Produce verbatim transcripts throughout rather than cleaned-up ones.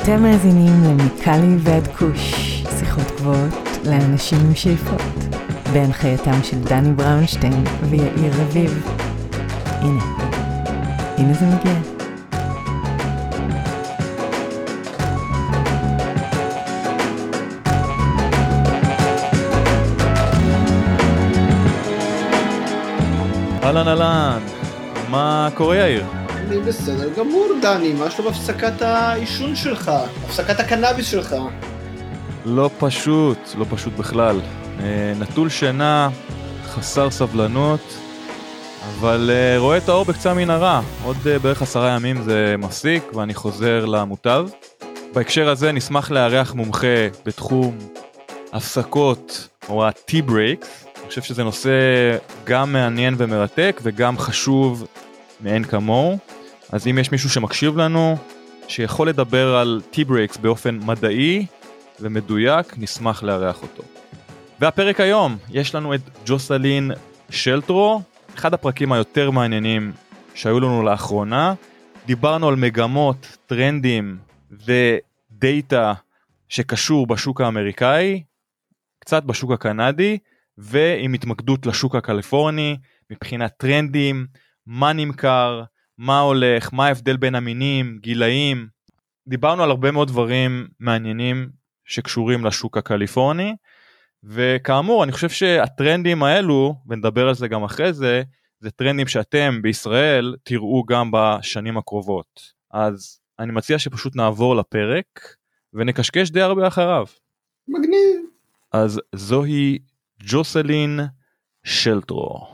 אתם מאזינים למיקלי ועד כוש, שיחות גבוהות לאנשים עם שאיפות, בהנחייתם של דני בראונשטיין ויאיר רביב. הנה, הנה זה מגיע. אהלן אהלן, מה קורה יאיר? אני בסדר גמור דני, מה שלום הפסקת האישון שלך, הפסקת הקנאביס שלך? לא פשוט, לא פשוט בכלל. נטול שינה, חסר סבלנות, אבל רואה את האור בקצה המנהרה. עוד בערך עשרה ימים זה מפסיק ואני חוזר למוטב. בהקשר הזה נשמח לארח מומחה בתחום הפסקות או ה-tea breaks. אני חושב שזה נושא גם מעניין ומרתק וגם חשוב מאין כמוהו. אז אם יש מישהו שמקשיב לנו, שיכול לדבר על tea breaks באופן מדעי ומדויק, נשמח לארח אותו. והפרק היום, יש לנו את ג'וסלין שלטרו, אחד הפרקים היותר מעניינים שהיו לנו לאחרונה. דיברנו על מגמות, טרנדים ודאטה שקשור בשוק האמריקאי, קצת בשוק הקנדי, ועם התמקדות לשוק הקליפורני, מבחינת טרנדים, מה נמכר, מה הולך, מה ההבדל בין המינים, גילאים. דיברנו על הרבה מאוד דברים מעניינים שקשורים לשוק הקליפורני, וכאמור, אני חושב שהטרנדים האלו, ונדבר על זה גם אחרי זה, זה טרנדים שאתם בישראל תראו גם בשנים הקרובות. אז אני מציע שפשוט נעבור לפרק, ונקשקש די הרבה אחריו. מגניב. אז זוהי ג'וסלין שלטרו.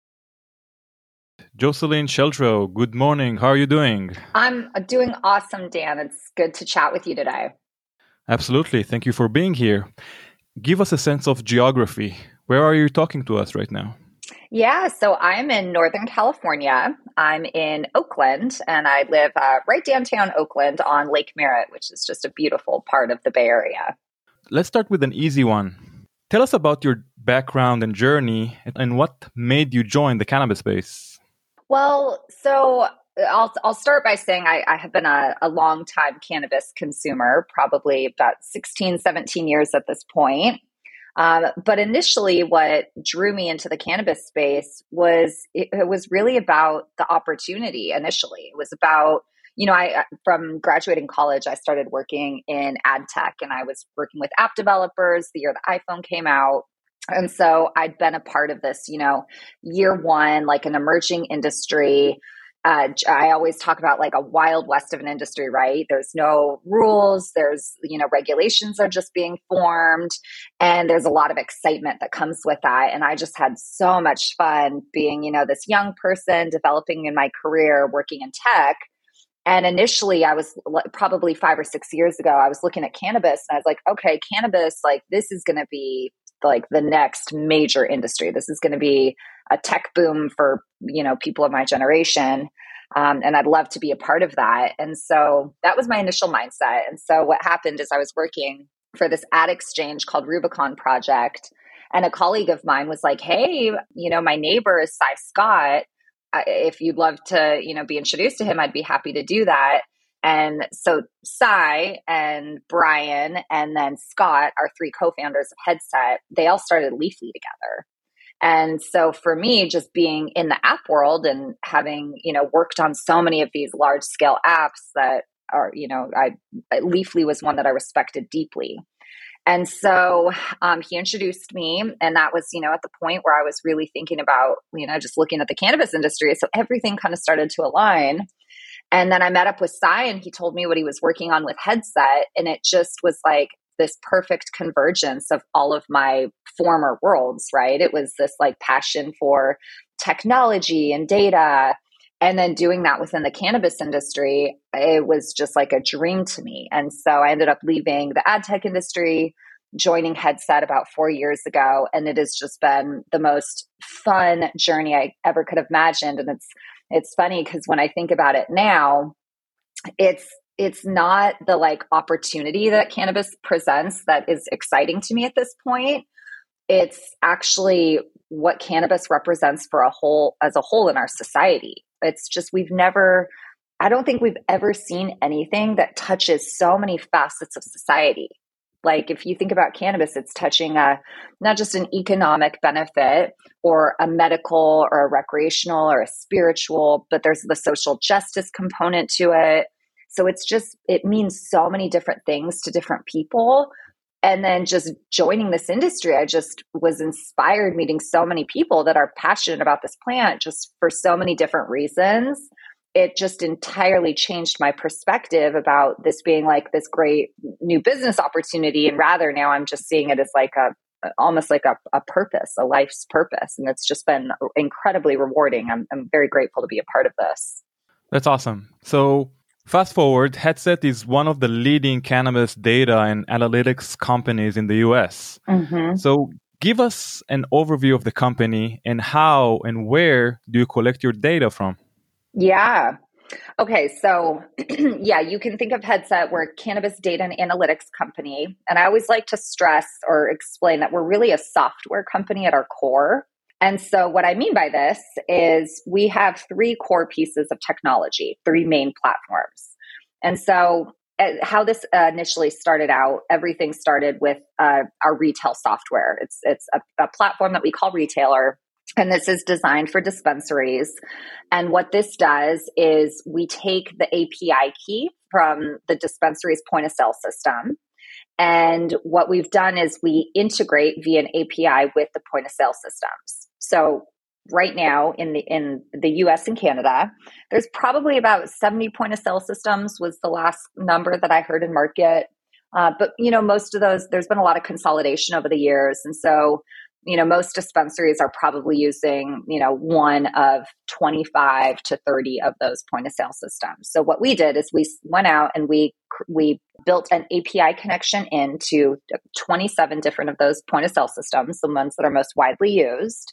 Jocelyn Sheltro, good morning. How are you doing? I'm doing awesome, Dan. It's good to chat with you today. Absolutely. Thank you for being here. Give us a sense of geography. Where are you talking to us right now? Yeah, so I'm in Northern California. I'm in Oakland, and I live uh, right downtown Oakland on Lake Merritt, which is just a beautiful part of the Bay Area. Let's start with an easy one. Tell us about your background and journey and what made you join the cannabis space. Well, so I'll I'll start by saying I, I have been a, a long time cannabis consumer, probably about sixteen, seventeen years at this point. Um, but initially what drew me into the cannabis space was, it, it was really about the opportunity initially. It was about, you know, I from graduating college, I started working in ad tech, and I was working with app developers the year the iPhone came out. And so I'd been a part of this, you know, year one, like an emerging industry. Uh, I always talk about like a wild west of an industry, right? There's no rules. There's, you know, regulations are just being formed. And there's a lot of excitement that comes with that. And I just had so much fun being, you know, this young person developing in my career, working in tech. And initially I was probably five or six years ago, I was looking at cannabis and I was like, okay, cannabis, like this is going to be like the next major industry. This is going to be a tech boom for, you know, people of my generation. Um, and I'd love to be a part of that. And so that was my initial mindset. And so what happened is I was working for this ad exchange called Rubicon Project. And a colleague of mine was like, hey, you know, my neighbor is Cy Scott. If you'd love to, you know, be introduced to him, I'd be happy to do that. And so Cy and Brian and then Scott, our three co-founders of Headset, they all started Leafly together. And so for me, just being in the app world and having, you know, worked on so many of these large scale apps that are, you know, I Leafly was one that I respected deeply. And so um, he introduced me, and that was, you know, at the point where I was really thinking about, you know, just looking at the cannabis industry. So everything kind of started to align. And then I met up with Cy and he told me what he was working on with Headset. And it just was like this perfect convergence of all of my former worlds, right? It was this like passion for technology and data. And then doing that within the cannabis industry, it was just like a dream to me. And so I ended up leaving the ad tech industry, joining Headset about four years ago. And it has just been the most fun journey I ever could have imagined. And it's It's funny because when I think about it now, it's it's not the like opportunity that cannabis presents that is exciting to me at this point. It's actually what cannabis represents for a whole as a whole in our society. It's just we've never I don't think we've ever seen anything that touches so many facets of society. Like if you think about cannabis, it's touching a, not just an economic benefit or a medical or a recreational or a spiritual, but there's the social justice component to it. So it's just, it means so many different things to different people. And then just joining this industry, I just was inspired meeting so many people that are passionate about this plant just for so many different reasons. It just entirely changed my perspective about this being like this great new business opportunity. And rather now I'm just seeing it as like a, almost like a, a purpose, a life's purpose. And it's just been incredibly rewarding. I'm, I'm very grateful to be a part of this. That's awesome. So fast forward, Headset is one of the leading cannabis data and analytics companies in the U S. Mm-hmm. So give us an overview of the company and how and where do you collect your data from? Yeah. Okay. So yeah, you can think of Headset. We're a cannabis data and analytics company. And I always like to stress or explain that we're really a software company at our core. And so what I mean by this is we have three core pieces of technology, three main platforms. And so uh, how this uh, initially started out, everything started with uh, our retail software. It's, it's a, a platform that we call Retailer. And this is designed for dispensaries. And what this does is we take the A P I key from the dispensary's point of sale system. And what we've done is we integrate via an A P I with the point of sale systems. So right now in the in the U S and Canada, there's probably about seventy point of sale systems was the last number that I heard in market. Uh, but, you know, most of those, there's been a lot of consolidation over the years. And so you know, most dispensaries are probably using, you know, one of twenty-five to thirty of those point of sale systems. So what we did is we went out and we we built an A P I connection into twenty-seven different of those point of sale systems, the ones that are most widely used.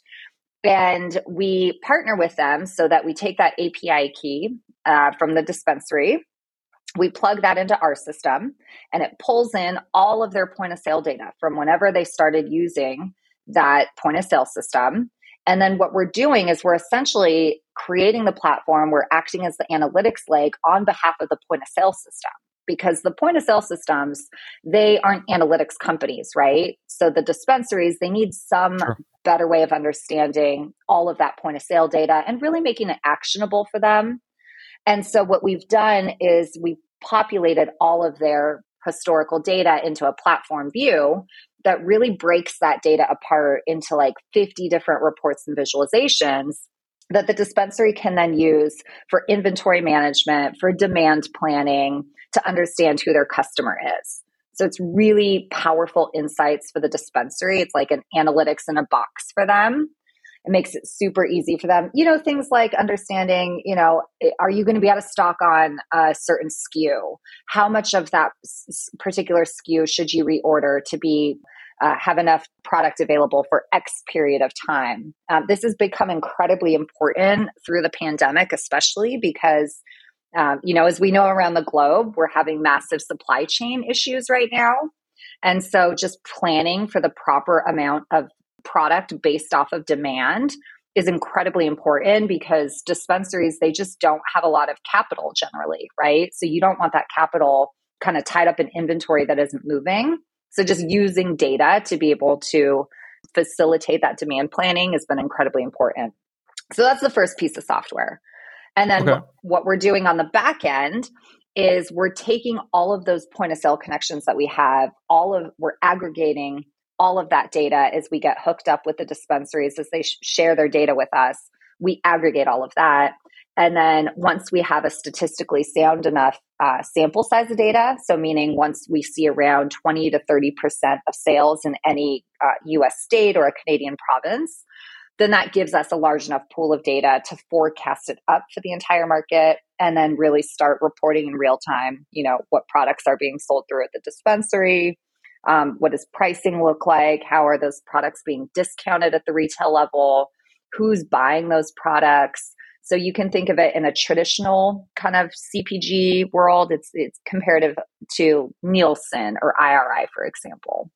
And we partner with them so that we take that A P I key uh, from the dispensary, we plug that into our system, and it pulls in all of their point of sale data from whenever they started using that point of sale system. And then what we're doing is we're essentially creating the platform. We're acting as the analytics leg on behalf of the point of sale system, because the point of sale systems, they aren't analytics companies, right? So the dispensaries, they need some sure. better way of understanding all of that point of sale data and really making it actionable for them. And so what we've done is we populated all of their historical data into a platform view that really breaks that data apart into like fifty different reports and visualizations that the dispensary can then use for inventory management, for demand planning, to understand who their customer is. So it's really powerful insights for the dispensary. It's like an analytics in a box for them. It makes it super easy for them. You know, things like understanding, you know, are you going to be out of stock on a certain S K U? How much of that particular S K U should you reorder to be uh, have enough product available for X period of time? Um, this has become incredibly important through the pandemic, especially because, um, you know, as we know around the globe, we're having massive supply chain issues right now. And so just planning for the proper amount of product based off of demand is incredibly important, because dispensaries, they just don't have a lot of capital generally, right? So you don't want that capital kind of tied up in inventory that isn't moving. So just using data to be able to facilitate that demand planning has been incredibly important. So that's the first piece of software. And then okay. what we're doing on the back end is we're taking all of those point of sale connections that we have, all of we're aggregating all of that data as we get hooked up with the dispensaries, as they sh- share their data with us. We aggregate all of that. And then once we have a statistically sound enough uh, sample size of data, so meaning once we see around twenty to thirty percent of sales in any uh, U S state or a Canadian province, then that gives us a large enough pool of data to forecast it up for the entire market, and then really start reporting in real time, you know, what products are being sold through at the dispensary. Um, what does pricing look like? How are those products being discounted at the retail level? Who's buying those products? So you can think of it in a traditional kind of C P G world. It's it's comparative to Nielsen or I R I, for example.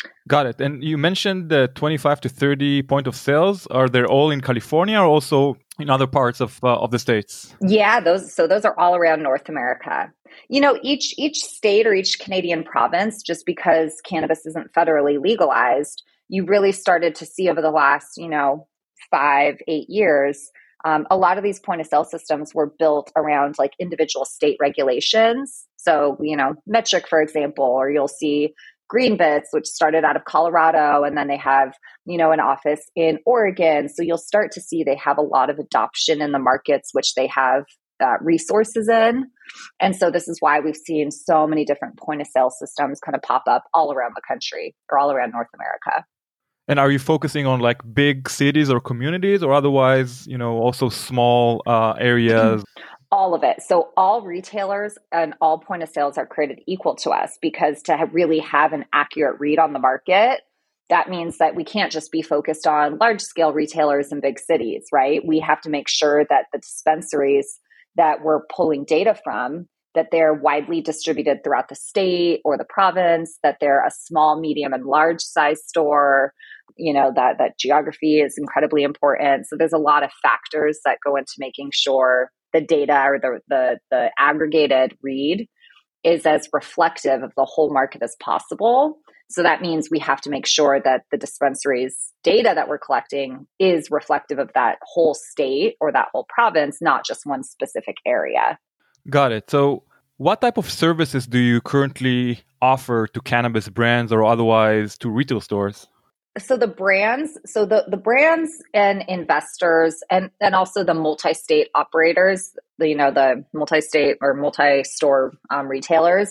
Got it. And you mentioned the twenty-five to thirty point of sales. Are they all in California or also in other parts of uh, of the states? Yeah, those so those are all around North America. You know, each each state or each Canadian province, just because cannabis isn't federally legalized, you really started to see over the last, you know, five, eight years, um, a lot of these point of sale systems were built around like individual state regulations. So, you know, Metric, for example, or you'll see Greenbits, which started out of Colorado, and then they have, you know, an office in Oregon. So you'll start to see they have a lot of adoption in the markets which they have uh, resources in. And so this is why we've seen so many different point of sale systems kind of pop up all around the country or all around North America. And are you focusing on like big cities or communities or otherwise, you know, also small uh, areas? All of it. So all retailers and all point of sales are created equal to us, because to have really have an accurate read on the market, that means that we can't just be focused on large scale retailers in big cities, right? We have to make sure that the dispensaries that we're pulling data from, that they're widely distributed throughout the state or the province, that they're a small, medium, and large size store. You know, that, that geography is incredibly important. So there's a lot of factors that go into making sure the data or the, the, the aggregated read is as reflective of the whole market as possible. So that means we have to make sure that the dispensary's data that we're collecting is reflective of that whole state or that whole province, not just one specific area. Got it. So what type of services do you currently offer to cannabis brands or otherwise to retail stores? So the brands, so the, the brands and investors and, and also the multi-state operators, the, you know, the multi-state or multi-store um, retailers,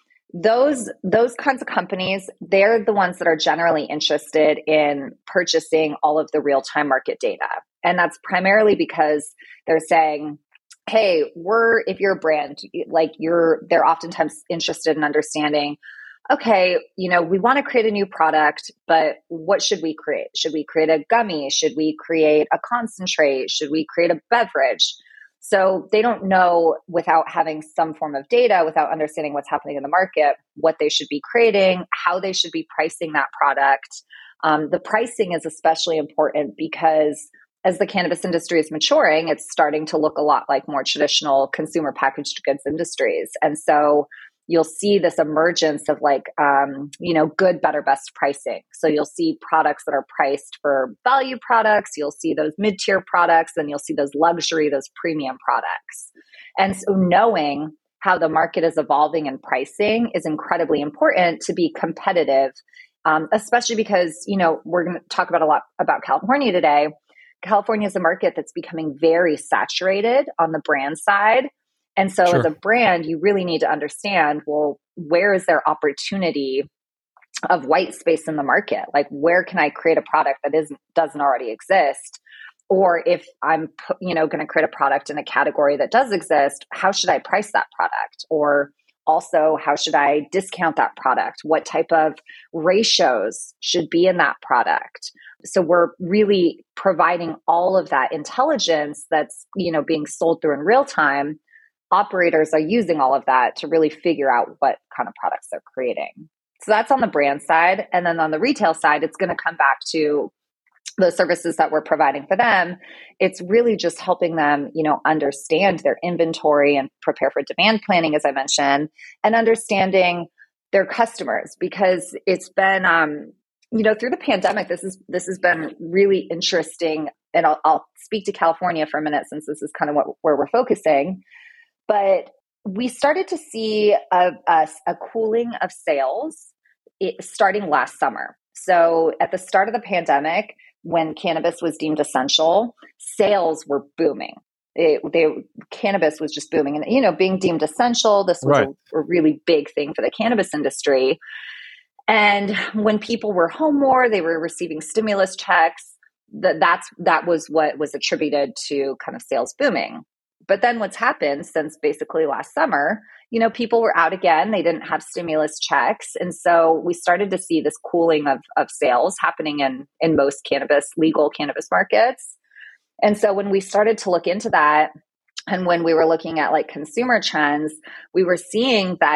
those, those kinds of companies, they're the ones that are generally interested in purchasing all of the real-time market data. And that's primarily because they're saying, hey, we're, if you're a brand, like you're, they're oftentimes interested in understanding, okay, you know, we want to create a new product, but what should we create? Should we create a gummy? Should we create a concentrate? Should we create a beverage? So they don't know, without having some form of data, without understanding what's happening in the market, what they should be creating, how they should be pricing that product. Um, the pricing is especially important because as the cannabis industry is maturing, it's starting to look a lot like more traditional consumer packaged goods industries. And so you'll see this emergence of like, um, you know, good, better, best pricing. So you'll see products that are priced for value products. You'll see those mid-tier products, and you'll see those luxury, those premium products. And so knowing how the market is evolving in pricing is incredibly important to be competitive, um, especially because, you know, we're going to talk about a lot about California today. California is a market that's becoming very saturated on the brand side. And so Sure. as a brand, you really need to understand, well, where is there opportunity of white space in the market? Like, where can I create a product that isn't, doesn't already exist? Or if I'm, you know, going to create a product in a category that does exist, how should I price that product? Or also, how should I discount that product? What type of ratios should be in that product? So we're really providing all of that intelligence that's, you know, being sold through in real time. Operators are using all of that to really figure out what kind of products they're creating. So that's on the brand side. And then on the retail side, it's going to come back to the services that we're providing for them. It's really just helping them, you know, understand their inventory and prepare for demand planning, as I mentioned, and understanding their customers, because it's been, um, you know, through the pandemic, this is, this has been really interesting. And I'll, I'll speak to California for a minute, since this is kind of what, where we're focusing. But we started to see a, a, a cooling of sales it, starting last summer. So at the start of the pandemic, when cannabis was deemed essential, sales were booming. It, they, cannabis was just booming. And, you know, being deemed essential, this was Right. a, a really big thing for the cannabis industry. And when people were home more, they were receiving stimulus checks. That that's that was what was attributed to kind of sales booming. But then what's happened since basically last summer, you know, people were out again. They didn't have stimulus checks. And so we started to see this cooling of, of sales happening in, in most cannabis, legal cannabis markets. And so when we started to look into that, and when we were looking at like consumer trends, we were seeing that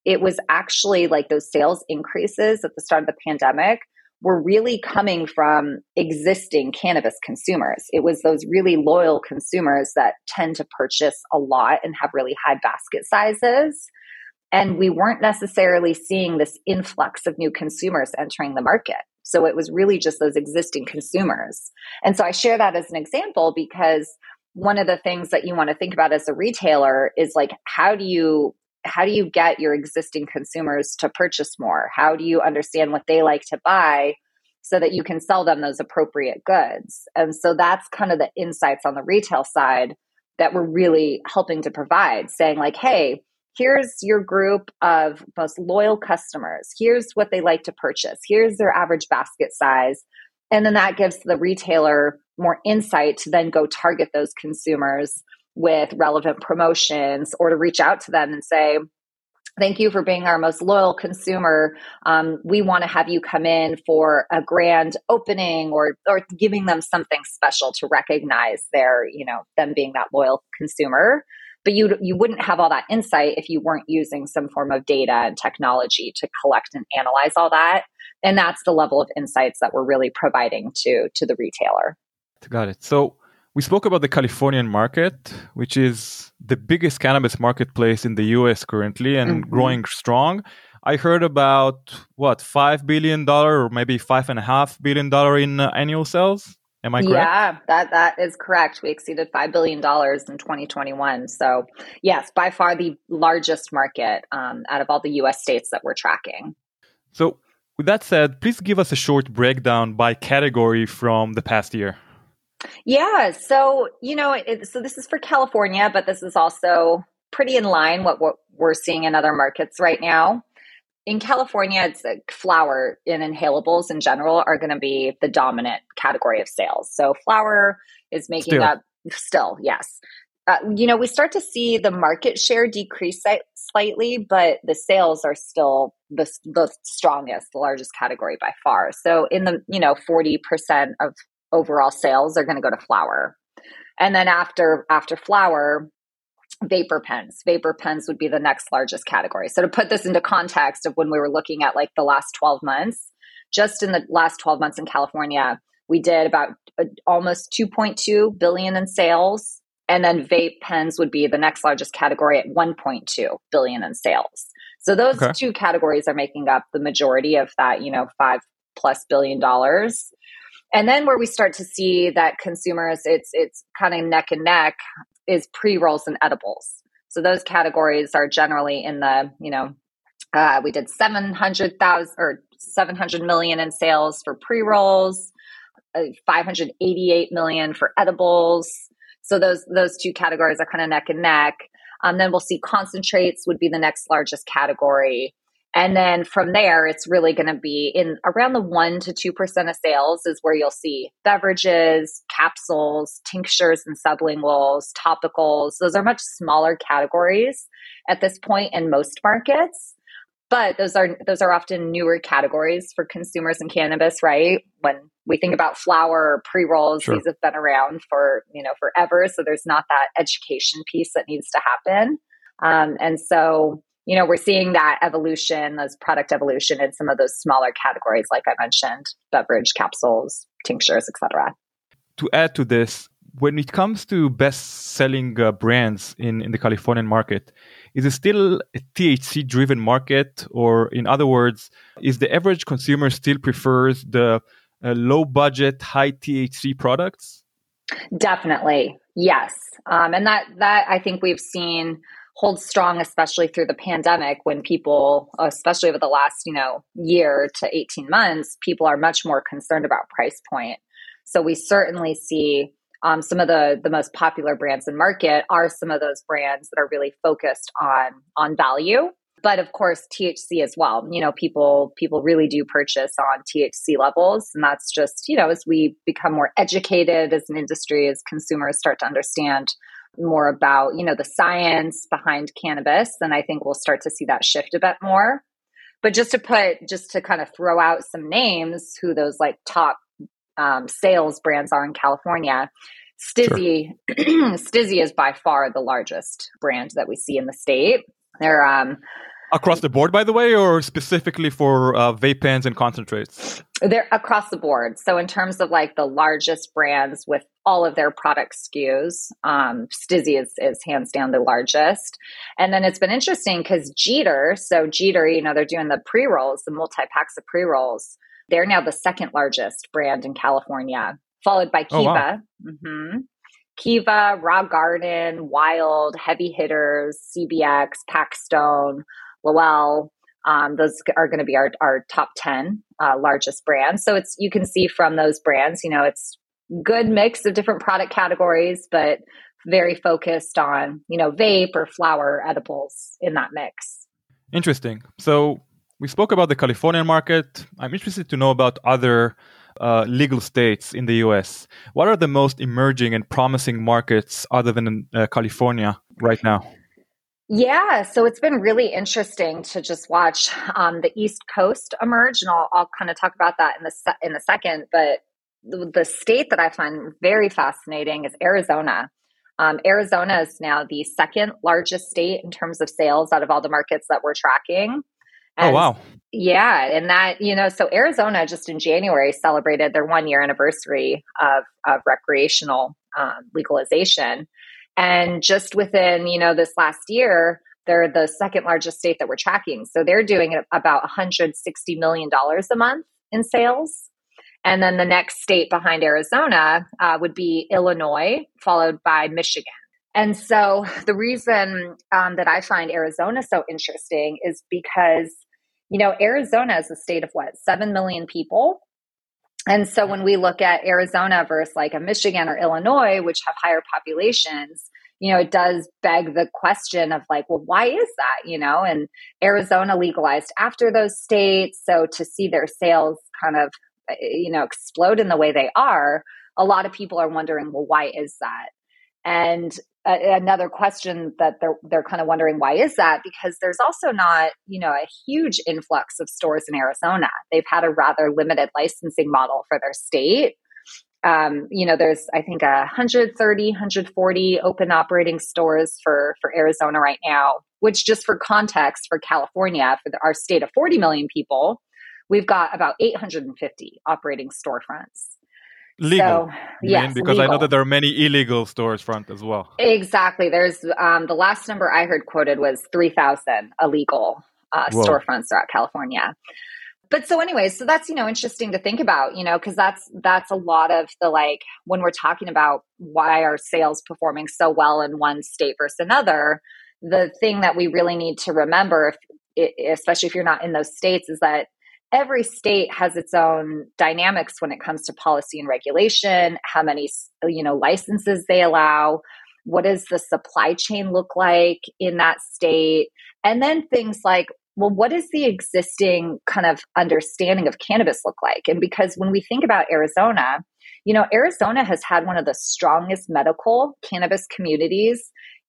it was actually like those sales increases at the start of the pandemic were really coming from existing cannabis consumers. It was those really loyal consumers that tend to purchase a lot and have really high basket sizes. And we weren't necessarily seeing this influx of new consumers entering the market. So it was really just those existing consumers. And so I share that as an example because one of the things that you want to think about as a retailer is like, how do you how do you get your existing consumers to purchase more? How do you understand what they like to buy so that you can sell them those appropriate goods? And so that's kind of the insights on the retail side that we're really helping to provide, saying like, hey, here's your group of most loyal customers. Here's what they like to purchase. Here's their average basket size. And then that gives the retailer more insight to then go target those consumers with relevant promotions or to reach out to them and say, thank you for being our most loyal consumer. Um, we want to have you come in for a grand opening or or giving them something special to recognize their, you know, them being that loyal consumer. But you you wouldn't have all that insight if you weren't using some form of data and technology to collect and analyze all that. And that's the level of insights that we're really providing to, to the retailer. Got it. So we spoke about the Californian market, which is the biggest cannabis marketplace in the U S currently and mm-hmm. growing strong. I heard about, what, five billion dollars or maybe five point five billion dollars in uh, annual sales? Am I correct? Yeah, that, that is correct. We exceeded five billion dollars in twenty twenty-one. So yes, by far the largest market um, out of all the U S states that we're tracking. So with that said, please give us a short breakdown by category from the past year. Yeah. So, you know, it, so this is for California, but this is also pretty in line with what we're seeing in other markets right now. In California, it's like flower and inhalables in general are going to be the dominant category of sales. So flower is making still. up still, yes. Uh, you know, we start to see the market share decrease slightly, but the sales are still the, the strongest, the largest category by far. So in the, you know, forty percent of overall sales are going to go to flower. And then after after flower, vapor pens. Vapor pens would be the next largest category. So to put this into context of when we were looking at like the last twelve months, just in the last twelve months in California, we did about uh, almost two point two billion in sales. And then vape pens would be the next largest category at one point two billion in sales. So those okay. two categories are making up the majority of that, you know, five plus billion dollars. And then where we start to see that consumers, it's it's kind of neck and neck, is pre-rolls and edibles. So those categories are generally in the, you know, uh, we did seven hundred thousand or seven hundred million in sales for pre-rolls, uh, five hundred eighty-eight million for edibles. So those those two categories are kind of neck and neck. Um, then we'll see concentrates would be the next largest category. And then from there, it's really going to be in around the one to two percent of sales is where you'll see beverages, capsules, tinctures and sublinguals, topicals. Those are much smaller categories at this point in most markets. But those are those are often newer categories for consumers in cannabis, right? When we think about flower or pre-rolls, sure. These have been around for, you know, forever. So there's not that education piece that needs to happen. Um, and so you know, we're seeing that evolution, those product evolution in some of those smaller categories, like I mentioned, beverage, capsules, tinctures, et cetera. To add to this, when it comes to best-selling uh, brands in, in the Californian market, is it still a T H C-driven market? Or in other words, is the average consumer still prefers the uh, low-budget, high T H C products? Definitely, yes. Um, and that that I think we've seen holds strong, especially through the pandemic when people, especially over the last, you know, year to eighteen months, people are much more concerned about price point. So we certainly see um, some of the, the most popular brands in market are some of those brands that are really focused on, on value. But of course, T H C as well. You know, people people really do purchase on T H C levels. And that's just, you know, as we become more educated as an industry, as consumers start to understand more about, you know, the science behind cannabis, and I think we'll start to see that shift a bit more. But just to put, just to kind of throw out some names, who those like top um, sales brands are in California, Stizzy, sure. Stizzy is by far the largest brand that we see in the state. They're um, Across the board, by the way, or specifically for uh, vape pens and concentrates? They're across the board. So in terms of like the largest brands with all of their product S K Us, um, Stizzy is, is hands down the largest. And then it's been interesting because Jeeter, so Jeeter, you know, they're doing the pre-rolls, the multi-packs of pre-rolls. They're now the second largest brand in California, followed by Kiva. Oh, wow. mm-hmm. Kiva, Raw Garden, Wild, Heavy Hitters, C B X, Paxstone, Lowell. Um, those are going to be our, our top ten uh, largest brands. So it's, you can see from those brands, you know, it's good mix of different product categories, but very focused on, you know, vape or flower edibles in that mix. Interesting. So we spoke about the Californian market. I'm interested to know about other uh, legal states in the U S. What are the most emerging and promising markets other than uh, California right now? Yeah, so it's been really interesting to just watch um, the East Coast emerge, and I'll, I'll kind of talk about that in the se- in a second. But the, the state that I find very fascinating is Arizona. Um, Arizona is now the second largest state in terms of sales out of all the markets that we're tracking. And oh, wow. Yeah, and that, you know, so Arizona just in January celebrated their one year anniversary of, of recreational um, legalization. And just within, you know, this last year, they're the second largest state that we're tracking. So they're doing about one hundred sixty million dollars a month in sales. And then the next state behind Arizona uh, would be Illinois, followed by Michigan. And so the reason um, that I find Arizona so interesting is because, you know, Arizona is a state of what, seven million people. And so when we look at Arizona versus like a Michigan or Illinois, which have higher populations, you know, it does beg the question of like, well, why is that? You know, and Arizona legalized after those states. So to see their sales kind of, you know, explode in the way they are, a lot of people are wondering, well, why is that? And uh, another question that they're they're kind of wondering, why is that? Because there's also not, you know, a huge influx of stores in Arizona. They've had a rather limited licensing model for their state. Um, you know, there's, I think, one hundred thirty, one hundred forty open operating stores for, for Arizona right now, which just for context, for California, for the, our state of forty million people, we've got about eight hundred fifty operating storefronts. Legal. So, yes, because legal. I know that there are many illegal stores front as well. Exactly. There's um, the last number I heard quoted was three thousand illegal uh, storefronts throughout California. But so anyway, so that's, you know, interesting to think about, you know, because that's that's a lot of the, like, when we're talking about why are sales performing so well in one state versus another, the thing that we really need to remember, if, especially if you're not in those states, is that every state has its own dynamics when it comes to policy and regulation, how many, you know, licenses they allow, what does the supply chain look like in that state, and then things like, well, what does the existing kind of understanding of cannabis look like? And because when we think about Arizona, you know, Arizona has had one of the strongest medical cannabis communities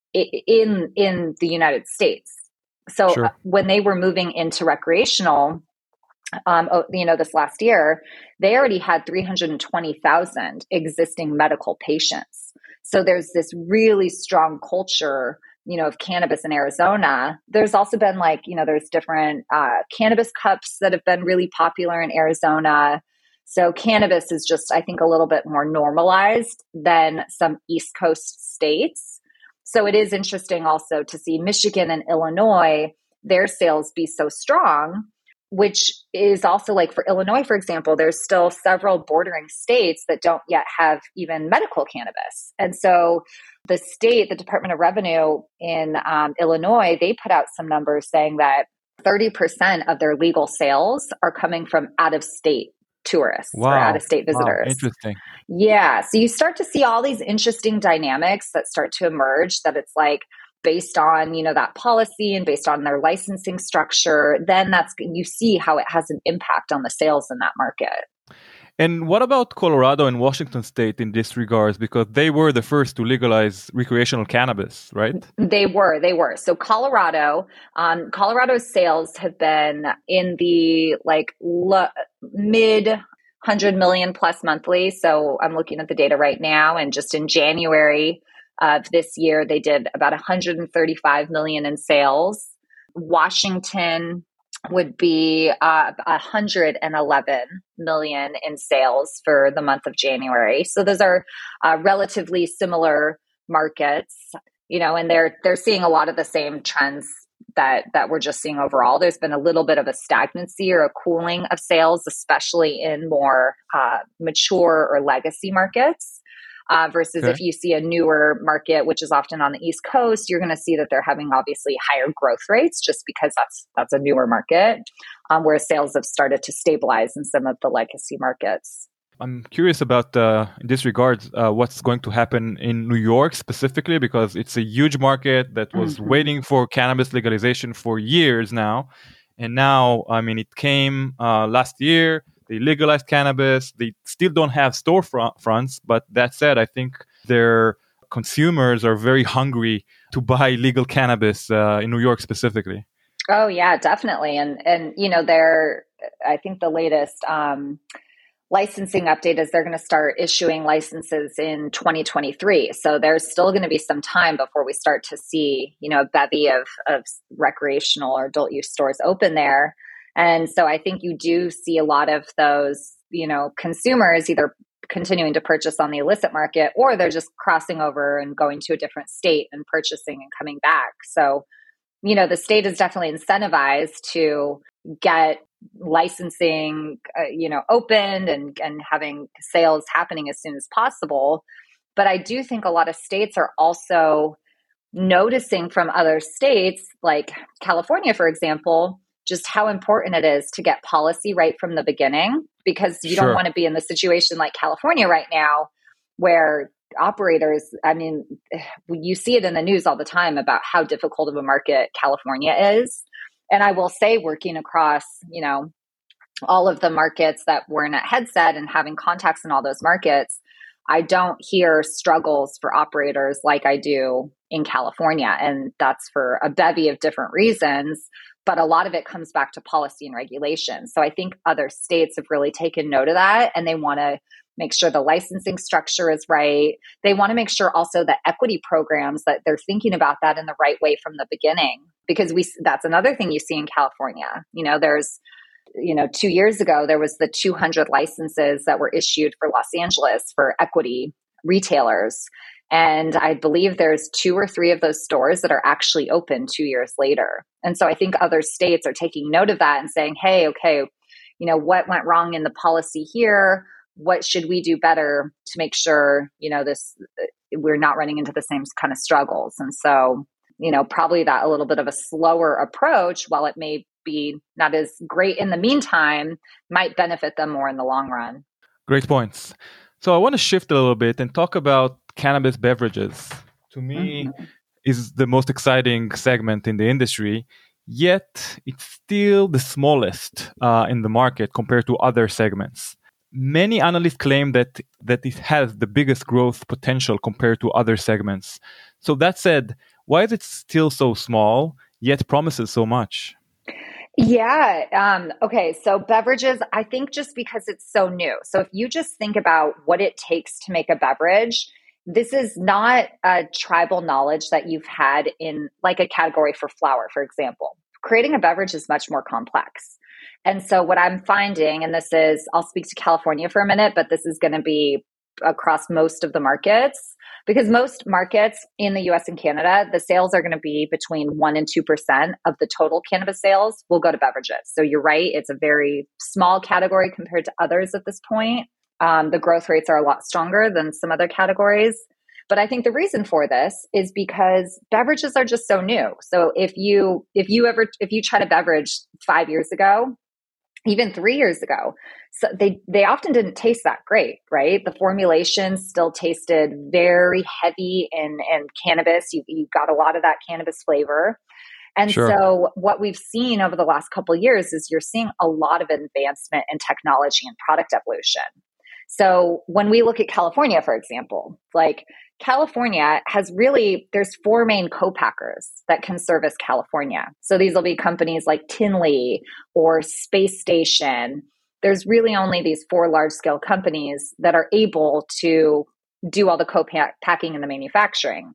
in in the United States. So sure. When they were moving into recreational, Um, you know, this last year, they already had three hundred twenty thousand existing medical patients. So there's this really strong culture, you know, of cannabis in Arizona. There's also been like, you know, there's different uh, cannabis cups that have been really popular in Arizona. So cannabis is just, I think, a little bit more normalized than some East Coast states. So it is interesting also to see Michigan and Illinois, their sales be so strong, which is also like for Illinois, for example, there's still several bordering states that don't yet have even medical cannabis. And so the state, the Department of Revenue in um, Illinois, they put out some numbers saying that thirty percent of their legal sales are coming from out-of-state tourists wow. or out-of-state visitors. Wow. Interesting. Yeah. So you start to see all these interesting dynamics that start to emerge, that it's like, based on, you know, that policy and based on their licensing structure, then that's, you see how it has an impact on the sales in that market. And what about Colorado and Washington State in this regards? Because they were the first to legalize recreational cannabis, right? They were, they were. So Colorado, um, Colorado's sales have been in the like lo- mid one hundred million plus monthly. So I'm looking at the data right now, and just in January of this year, they did about one hundred thirty-five million in sales. Washington would be uh, one hundred eleven million in sales for the month of January. So those are uh, relatively similar markets, you know, and they're they're seeing a lot of the same trends that that we're just seeing overall. There's been a little bit of a stagnancy or a cooling of sales, especially in more uh, mature or legacy markets. Uh, versus Okay. if you see a newer market, which is often on the East Coast, you're going to see that they're having obviously higher growth rates just because that's that's a newer market, um, whereas sales have started to stabilize in some of the legacy markets. I'm curious about, uh, in this regard, uh, what's going to happen in New York specifically, because it's a huge market that was Mhm. waiting for cannabis legalization for years now. And now, I mean, it came uh, last year. They legalized cannabis. They still don't have storefronts, but that said, I think their consumers are very hungry to buy legal cannabis uh, in New York specifically. Oh yeah, definitely. And and you know, they're I think the latest um, licensing update is they're going to start issuing licenses in twenty twenty-three. So there's still going to be some time before we start to see, you know, a bevy of of recreational or adult use stores open there. And so I think you do see a lot of those, you know, consumers either continuing to purchase on the illicit market, or they're just crossing over and going to a different state and purchasing and coming back. So, you know, the state is definitely incentivized to get licensing, uh, you know, opened and, and having sales happening as soon as possible. But I do think a lot of states are also noticing from other states, like California, for example, just how important it is to get policy right from the beginning, because you Sure. don't want to be in the situation like California right now, where operators, I mean, you see it in the news all the time about how difficult of a market California is. And I will say, working across, you know, all of the markets that we're in at Headset and having contacts in all those markets, I don't hear struggles for operators like I do in California. And that's for a bevy of different reasons. But a lot of it comes back to policy and regulation. So I think other states have really taken note of that, and they want to make sure the licensing structure is right. They want to make sure also the equity programs, that they're thinking about that in the right way from the beginning, because we that's another thing you see in California. You know, there's, you know, two years ago, there was the two hundred licenses that were issued for Los Angeles for equity retailers. And I believe there's two or three of those stores that are actually open two years later. And so I think other states are taking note of that and saying, hey, okay, you know, what went wrong in the policy here? What should we do better to make sure, you know, this, we're not running into the same kind of struggles? And so, you know, probably that a little bit of a slower approach, while it may be not as great in the meantime, might benefit them more in the long run. Great points. So I want to shift a little bit and talk about cannabis beverages. To me, Mhm. is the most exciting segment in the industry, yet it's still the smallest uh, in the market compared to other segments. Many analysts claim that, that it has the biggest growth potential compared to other segments. So that said, why is it still so small, yet promises so much? Yeah. Um, okay. So beverages, I think just because it's so new. So if you just think about what it takes to make a beverage, this is not a tribal knowledge that you've had in like a category for flour, for example. Creating a beverage is much more complex. And so what I'm finding, and this is, I'll speak to California for a minute, but this is going to be across most of the markets, because most markets in the U S and Canada, the sales are going to be between one and two percent of the total cannabis sales will go to beverages. So you're right. It's a very small category compared to others at this point. Um, the growth rates are a lot stronger than some other categories. But I think the reason for this is because beverages are just so new. So if you, if you ever, if you tried a beverage five years ago, even three years ago, so they, they often didn't taste that great, right? The formulation still tasted very heavy in, in cannabis. You, you got a lot of that cannabis flavor. And Sure. so what we've seen over the last couple of years is you're seeing a lot of advancement in technology and product evolution. So when we look at California, for example, like California has really, there's four main co-packers that can service California. So these will be companies like Tinley or Space Station. There's really only these four large scale companies that are able to do all the co-packing and the manufacturing.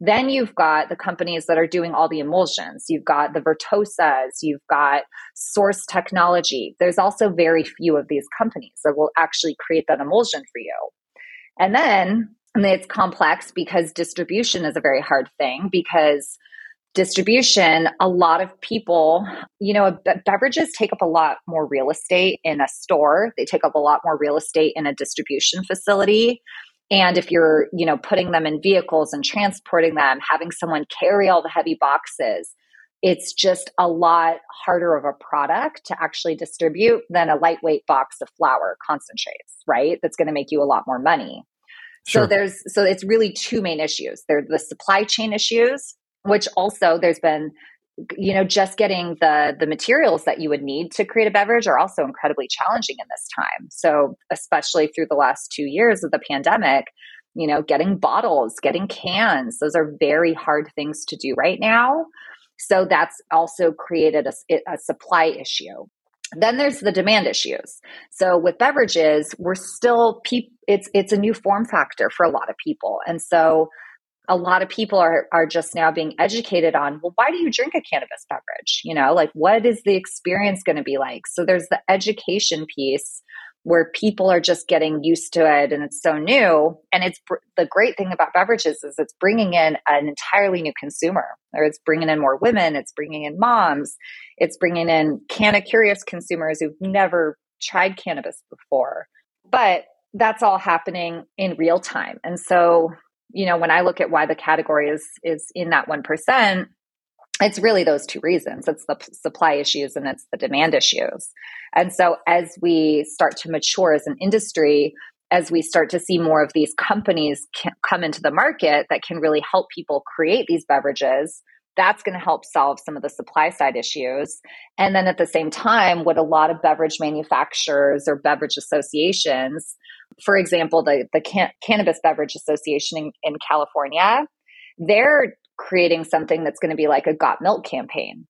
Then you've got the companies that are doing all the emulsions. You've got the Vertosas, you've got Source Technology. There's also very few of these companies that will actually create that emulsion for you. And then and it's complex because distribution is a very hard thing, because distribution, a lot of people, you know, be- beverages take up a lot more real estate in a store. They take up a lot more real estate in a distribution facility. And if you're, you know, putting them in vehicles and transporting them, having someone carry all the heavy boxes, it's just a lot harder of a product to actually distribute than a lightweight box of flour concentrates, right? That's going to make you a lot more money. Sure. So there's, so it's really two main issues. There's the supply chain issues, which also there's been, you know, just getting the, the materials that you would need to create a beverage are also incredibly challenging in this time. So especially through the last two years of the pandemic, you know, getting bottles, getting cans, those are very hard things to do right now. So that's also created a, a supply issue. Then there's the demand issues. So with beverages, we're still, pe- it's it's a new form factor for a lot of people. And so a lot of people are are just now being educated on, well, why do you drink a cannabis beverage? You know, like, what is the experience going to be like? So there's the education piece where people are just getting used to it, and it's so new. And it's the great thing about beverages is it's bringing in an entirely new consumer, or it's bringing in more women, it's bringing in moms, it's bringing in canna curious consumers who've never tried cannabis before. But that's all happening in real time. And so, you know, when I look at why the category is is in that one percent, it's really those two reasons. It's the p- supply issues and it's the demand issues. And so as we start to mature as an industry, as we start to see more of these companies can come into the market that can really help people create these beverages, that's going to help solve some of the supply side issues. And then at the same time, what a lot of beverage manufacturers or beverage associations, for example, the, the Can- Cannabis Beverage Association in, in California, they're creating something that's going to be like a Got Milk campaign.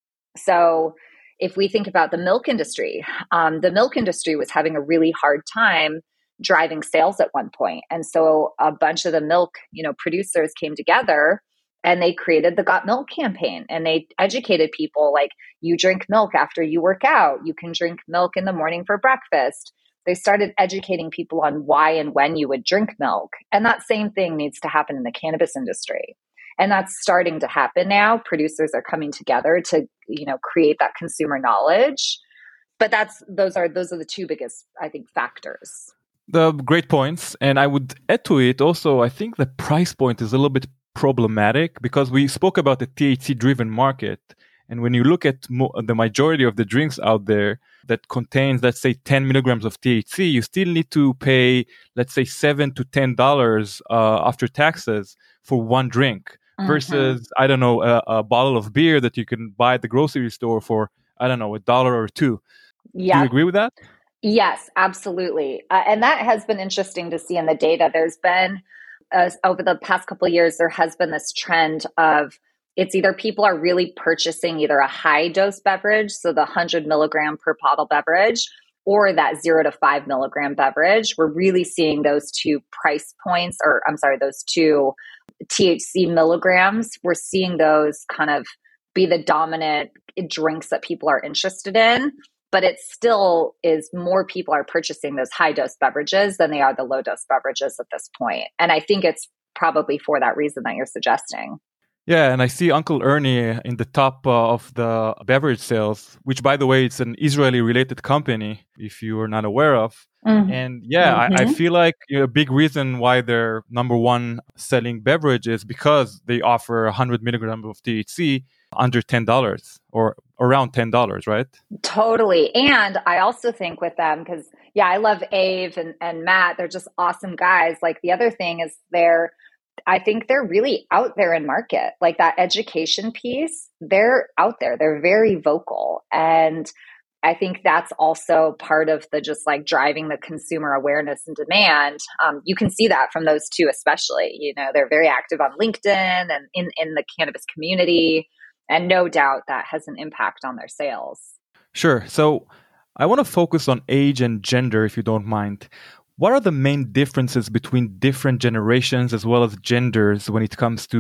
So if we think about the milk industry, um, the milk industry was having a really hard time driving sales at one point. And so a bunch of the milk, you know, producers came together and they created the Got Milk campaign, and they educated people like, you drink milk after you work out, you can drink milk in the morning for breakfast. They started educating people on why and when you would drink milk. And that same thing needs to happen in the cannabis industry. And that's starting to happen now. Producers are coming together to, you know, create that consumer knowledge. But that's those are those are the two biggest, I think, factors. The great points. And I would add to it also, I think the price point is a little bit problematic because we spoke about the T H C-driven market. And when you look at mo- the majority of the drinks out there that contains, let's say, ten milligrams of T H C, you still need to pay, let's say, seven to ten dollars uh, after taxes for one drink. Mm-hmm. Versus, I don't know, a, a bottle of beer that you can buy at the grocery store for, I don't know, a dollar or two. Yeah. Do you agree with that? Yes, absolutely. Uh, and that has been interesting to see in the data. There's been, uh, over the past couple of years, there has been this trend of it's either people are really purchasing either a high dose beverage, so the one hundred milligram per bottle beverage, or that zero to five milligram beverage. We're really seeing those two price points, or I'm sorry, those two T H C milligrams. We're seeing those kind of be the dominant drinks that people are interested in, but it still is more people are purchasing those high dose beverages than they are the low dose beverages at this point. And I think it's probably for that reason that you're suggesting. Yeah, and I see Uncle Ernie in the top uh, of the beverage sales, which, by the way, it's an Israeli-related company, if you are not aware of. Mm-hmm. And yeah, mm-hmm. I, I feel like you know, a big reason why they're number one selling beverage is because they offer one hundred milligrams of T H C under ten dollars or around ten dollars, right? Totally. And I also think with them, because, yeah, I love Ave and, and Matt. They're just awesome guys. Like the other thing is they're I think they're really out there in market, like that education piece. They're out there. They're very vocal. And I think that's also part of the just like driving the consumer awareness and demand. Um, you can see that from those two, especially, you know, they're very active on LinkedIn and in, in the cannabis community. And no doubt that has an impact on their sales. Sure. So I want to focus on age and gender, if you don't mind. What are the main differences between different generations as well as genders when it comes to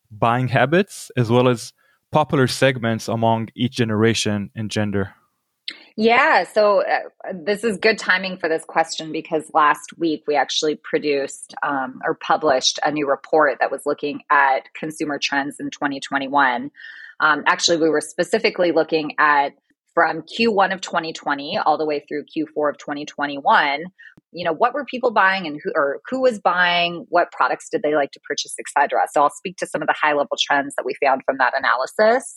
buying habits as well as popular segments among each generation and gender? Yeah, so uh, this is good timing for this question because last week we actually produced um, or published a new report that was looking at consumer trends in twenty twenty-one. Um, actually, we were specifically looking at from Q one of twenty twenty all the way through Q four of twenty twenty-one. You know, what were people buying and who or who was buying? What products did they like to purchase, et cetera? So I'll speak to some of the high level trends that we found from that analysis.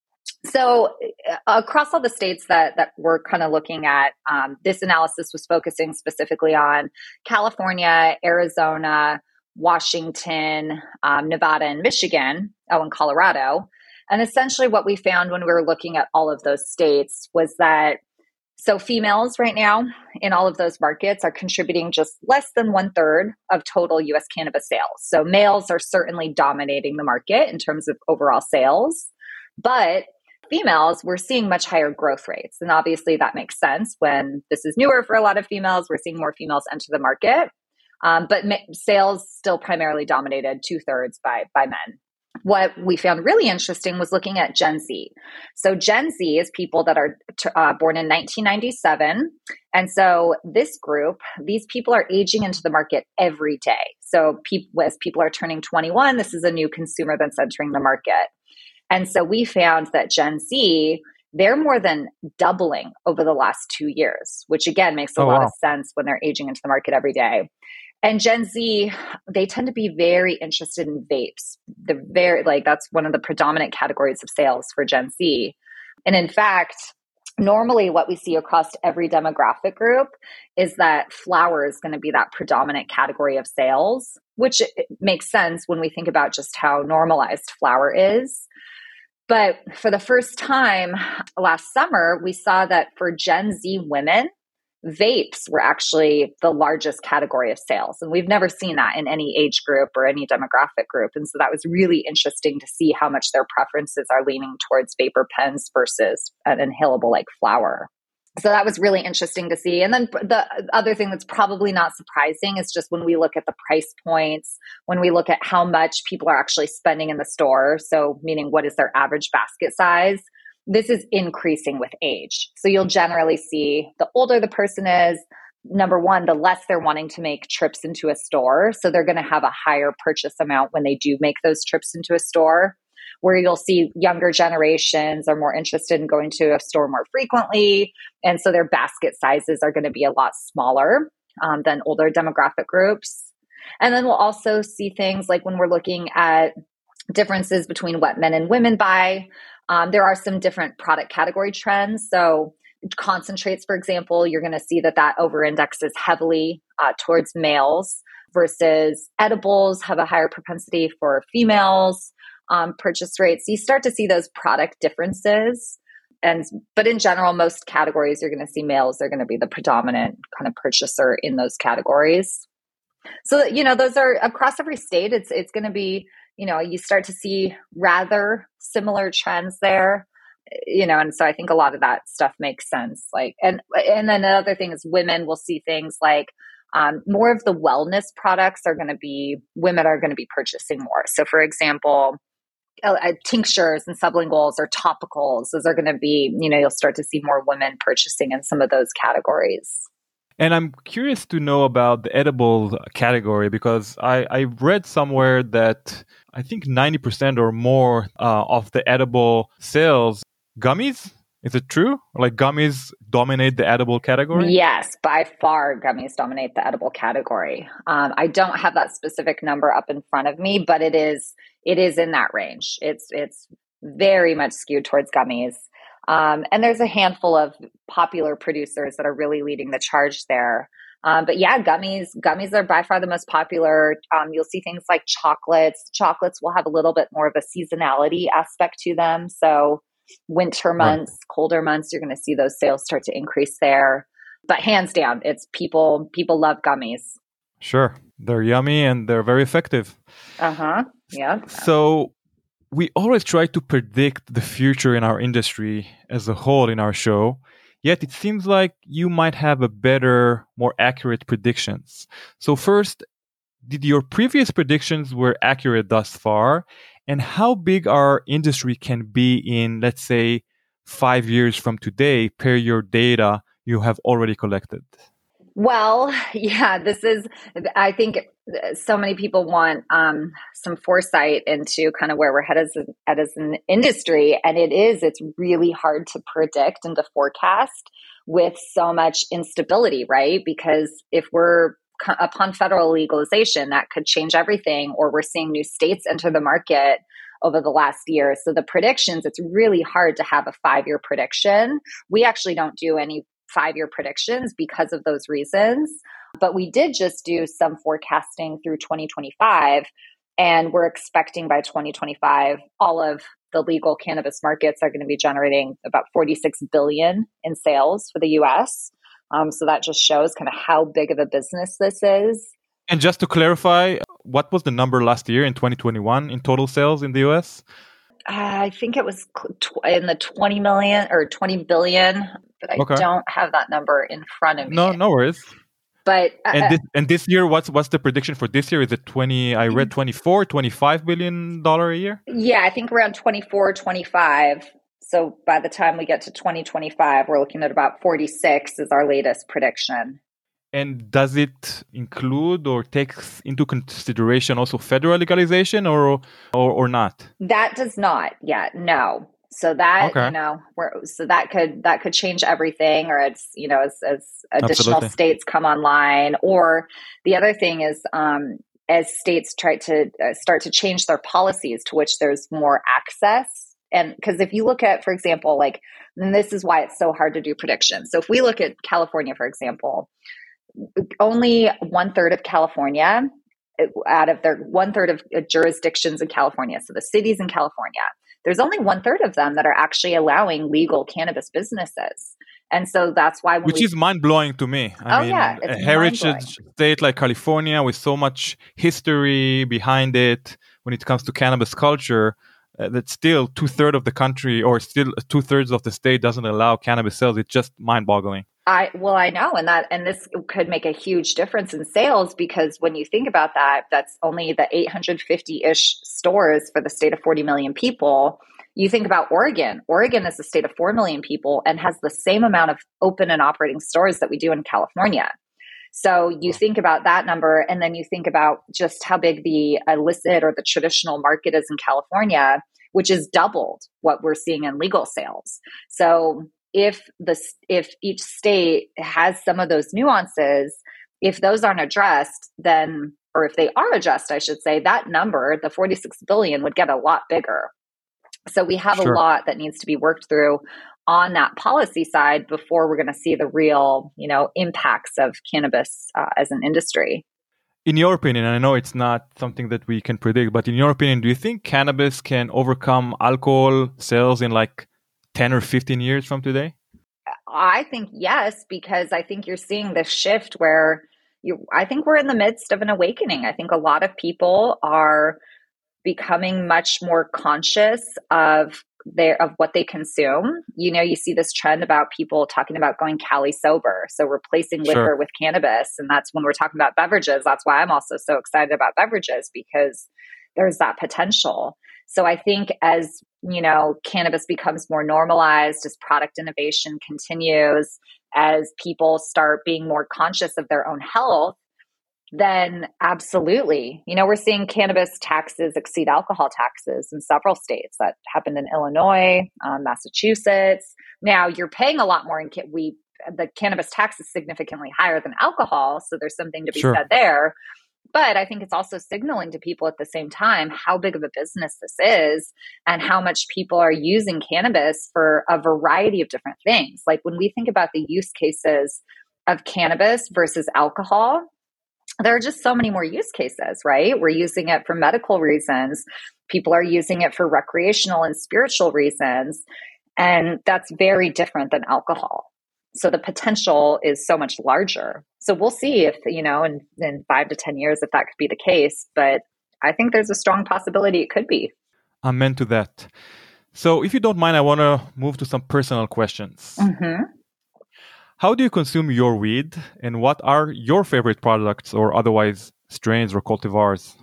So uh, across all the states that that we're kind of looking at, um, this analysis was focusing specifically on California, Arizona, Washington, um, Nevada, and Michigan, oh, and Colorado. And essentially what we found when we were looking at all of those states was that so females right now in all of those markets are contributing just less than one third of total U S cannabis sales. So males are certainly dominating the market in terms of overall sales, but females, we're seeing much higher growth rates. And obviously that makes sense when this is newer for a lot of females. We're seeing more females enter the market. Um, but ma- sales still primarily dominated two thirds by, by men. What we found really interesting was looking at Gen Z. So Gen Z is people that are uh, born in nineteen ninety-seven. And so this group, these people are aging into the market every day. So pe- as people are turning twenty-one, this is a new consumer that's entering the market. And so we found that Gen Z, they're more than doubling over the last two years, which again makes a Oh, lot wow. of sense when they're aging into the market every day. And Gen Z, they tend to be very interested in vapes. The very like that's one of the predominant categories of sales for Gen Z. And in fact, normally what we see across every demographic group is that flower is going to be that predominant category of sales, which makes sense when we think about just how normalized flower is. But for the first time last summer, we saw that for Gen Z women, vapes were actually the largest category of sales. And we've never seen that in any age group or any demographic group. And so that was really interesting to see how much their preferences are leaning towards vapor pens versus an inhalable like flower. So that was really interesting to see. And then the other thing that's probably not surprising is just when we look at the price points, when we look at how much people are actually spending in the store. So meaning what is their average basket size? This is increasing with age. So you'll generally see the older the person is, number one, the less they're wanting to make trips into a store. So they're going to have a higher purchase amount when they do make those trips into a store. Where you'll see younger generations are more interested in going to a store more frequently. And so their basket sizes are going to be a lot smaller um, than older demographic groups. And then we'll also see things like when we're looking at differences between what men and women buy. Um, there are some different product category trends. So concentrates, for example, you're going to see that that over-indexes heavily uh, towards males versus edibles have a higher propensity for females. Um, purchase rates. You start to see those product differences. And, but in general, most categories, you're going to see males are going to be the predominant kind of purchaser in those categories. So, you know, those are across every state. It's, it's going to be, you know, you start to see rather similar trends there, you know, and so I think a lot of that stuff makes sense. Like, and, and then another thing is women will see things like, Um, more of the wellness products are going to be, women are going to be purchasing more. So for example, uh, uh, tinctures and sublinguals or topicals, those are going to be, you know, you'll start to see more women purchasing in some of those categories. And I'm curious to know about the edible category because I, I read somewhere that I think ninety percent or more uh, of the edible sales, gummies. Is it true? Like gummies dominate the edible category? Yes, by far gummies dominate the edible category. Um, I don't have that specific number up in front of me, but it is it is in that range. It's it's very much skewed towards gummies. Um, and there's a handful of popular producers that are really leading the charge there. Um, but yeah, gummies, gummies are by far the most popular. Um, you'll see things like chocolates. Chocolates will have a little bit more of a seasonality aspect to them. So winter months, right. colder months, you're going to see those sales start to increase there. But hands down, it's people, people love gummies. Sure. They're yummy and they're very effective. Uh-huh. Yeah. So we always try to predict the future in our industry as a whole in our show. Yet it seems like you might have a better, more accurate predictions. So first, did your previous predictions were accurate thus far? And how big our industry can be in, let's say, five years from today, per your data you have already collected? Well, yeah, this is, I think so many people want um, some foresight into kind of where we're headed as, as an industry. And it is, it's really hard to predict and to forecast with so much instability, right? Because if we're upon federal legalization, that could change everything, or we're seeing new states enter the market over the last year. So the predictions, it's really hard to have a five-year prediction. We actually don't do any five-year predictions because of those reasons. But we did just do some forecasting through twenty twenty-five, and we're expecting by twenty twenty-five, all of the legal cannabis markets are going to be generating about forty-six billion dollars in sales for the U S. Um, so that just shows kind of how big of a business this is. And just to clarify, what was the number last year in twenty twenty-one in total sales in the U S? Uh, I think it was in the twenty million or twenty billion, but I okay. don't have that number in front of me. No, no worries. But uh, and this and this year, what's what's the prediction for this year? Is it twenty? I read twenty-four, twenty-five billion dollar a year. Yeah, I think around twenty-four, twenty-five. So by the time we get to twenty twenty-five, we're looking at about forty-six is our latest prediction. And does it include or takes into consideration also federal legalization or or, or not? That does not yet, no. So that, okay. you know, we're, so that could that could change everything, or it's, you know, as, as additional Absolutely. states come online. Or the other thing is, um, as states try to uh, start to change their policies to which there's more access. And because if you look at, for example, like, and this is why it's so hard to do predictions. So if we look at California, for example, only one third of California, out of their one third of jurisdictions in California, so the cities in California, there's only one third of them that are actually allowing legal cannabis businesses. And so that's why, when which we, is mind blowing to me. I oh mean, yeah, a heritage state like California with so much history behind it when it comes to cannabis culture, uh, that still two thirds of the country or still two thirds of the state doesn't allow cannabis sales. It's just mind boggling. I, well, I know. And that, and this could make a huge difference in sales, because when you think about that, that's only the eight hundred fifty-ish stores for the state of forty million people. You think about Oregon. Oregon is a state of four million people and has the same amount of open and operating stores that we do in California. So you think about that number, and then you think about just how big the illicit or the traditional market is in California, which is doubled what we're seeing in legal sales. So if the if each state has some of those nuances, if those aren't addressed, then, or if they are addressed, I should say, that number, the forty-six billion, would get a lot bigger. So we have sure. a lot that needs to be worked through on that policy side before we're going to see the real, you know, impacts of cannabis uh, as an industry. In your opinion, and I know it's not something that we can predict, but in your opinion, do you think cannabis can overcome alcohol sales in like ten or fifteen years from today? I think yes, because I think you're seeing this shift where you, I think we're in the midst of an awakening. I think a lot of people are becoming much more conscious of their, of what they consume. You know, you see this trend about people talking about going Cali sober. So replacing liquor sure. with cannabis. And that's when we're talking about beverages. That's why I'm also so excited about beverages, because there's that potential. So I think as, you know, cannabis becomes more normalized, as product innovation continues, as people start being more conscious of their own health, then absolutely. You know, we're seeing cannabis taxes exceed alcohol taxes in several states. That happened in Illinois, um, Massachusetts. Now you're paying a lot more in ca- we the cannabis tax is significantly higher than alcohol, so there's something to be sure. said there. But I think it's also signaling to people at the same time how big of a business this is and how much people are using cannabis for a variety of different things. Like when we think about the use cases of cannabis versus alcohol, there are just so many more use cases, right? We're using it for medical reasons. People are using it for recreational and spiritual reasons. And that's very different than alcohol. So the potential is so much larger. So we'll see if, you know, in, in five to ten years, if that could be the case. But I think there's a strong possibility it could be. Amen to that. So if you don't mind, I want to move to some personal questions. Mm-hmm. How do you consume your weed, and what are your favorite products or otherwise strains or cultivars?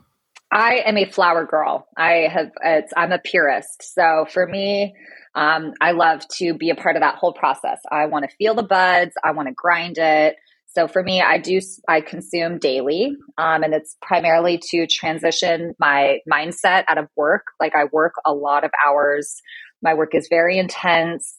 I am a flower girl. I have, it's, I'm a purist. So for me, um, I love to be a part of that whole process. I want to feel the buds. I want to grind it. So for me, I do, I consume daily. Um, and it's primarily to transition my mindset out of work. Like I work a lot of hours. My work is very intense.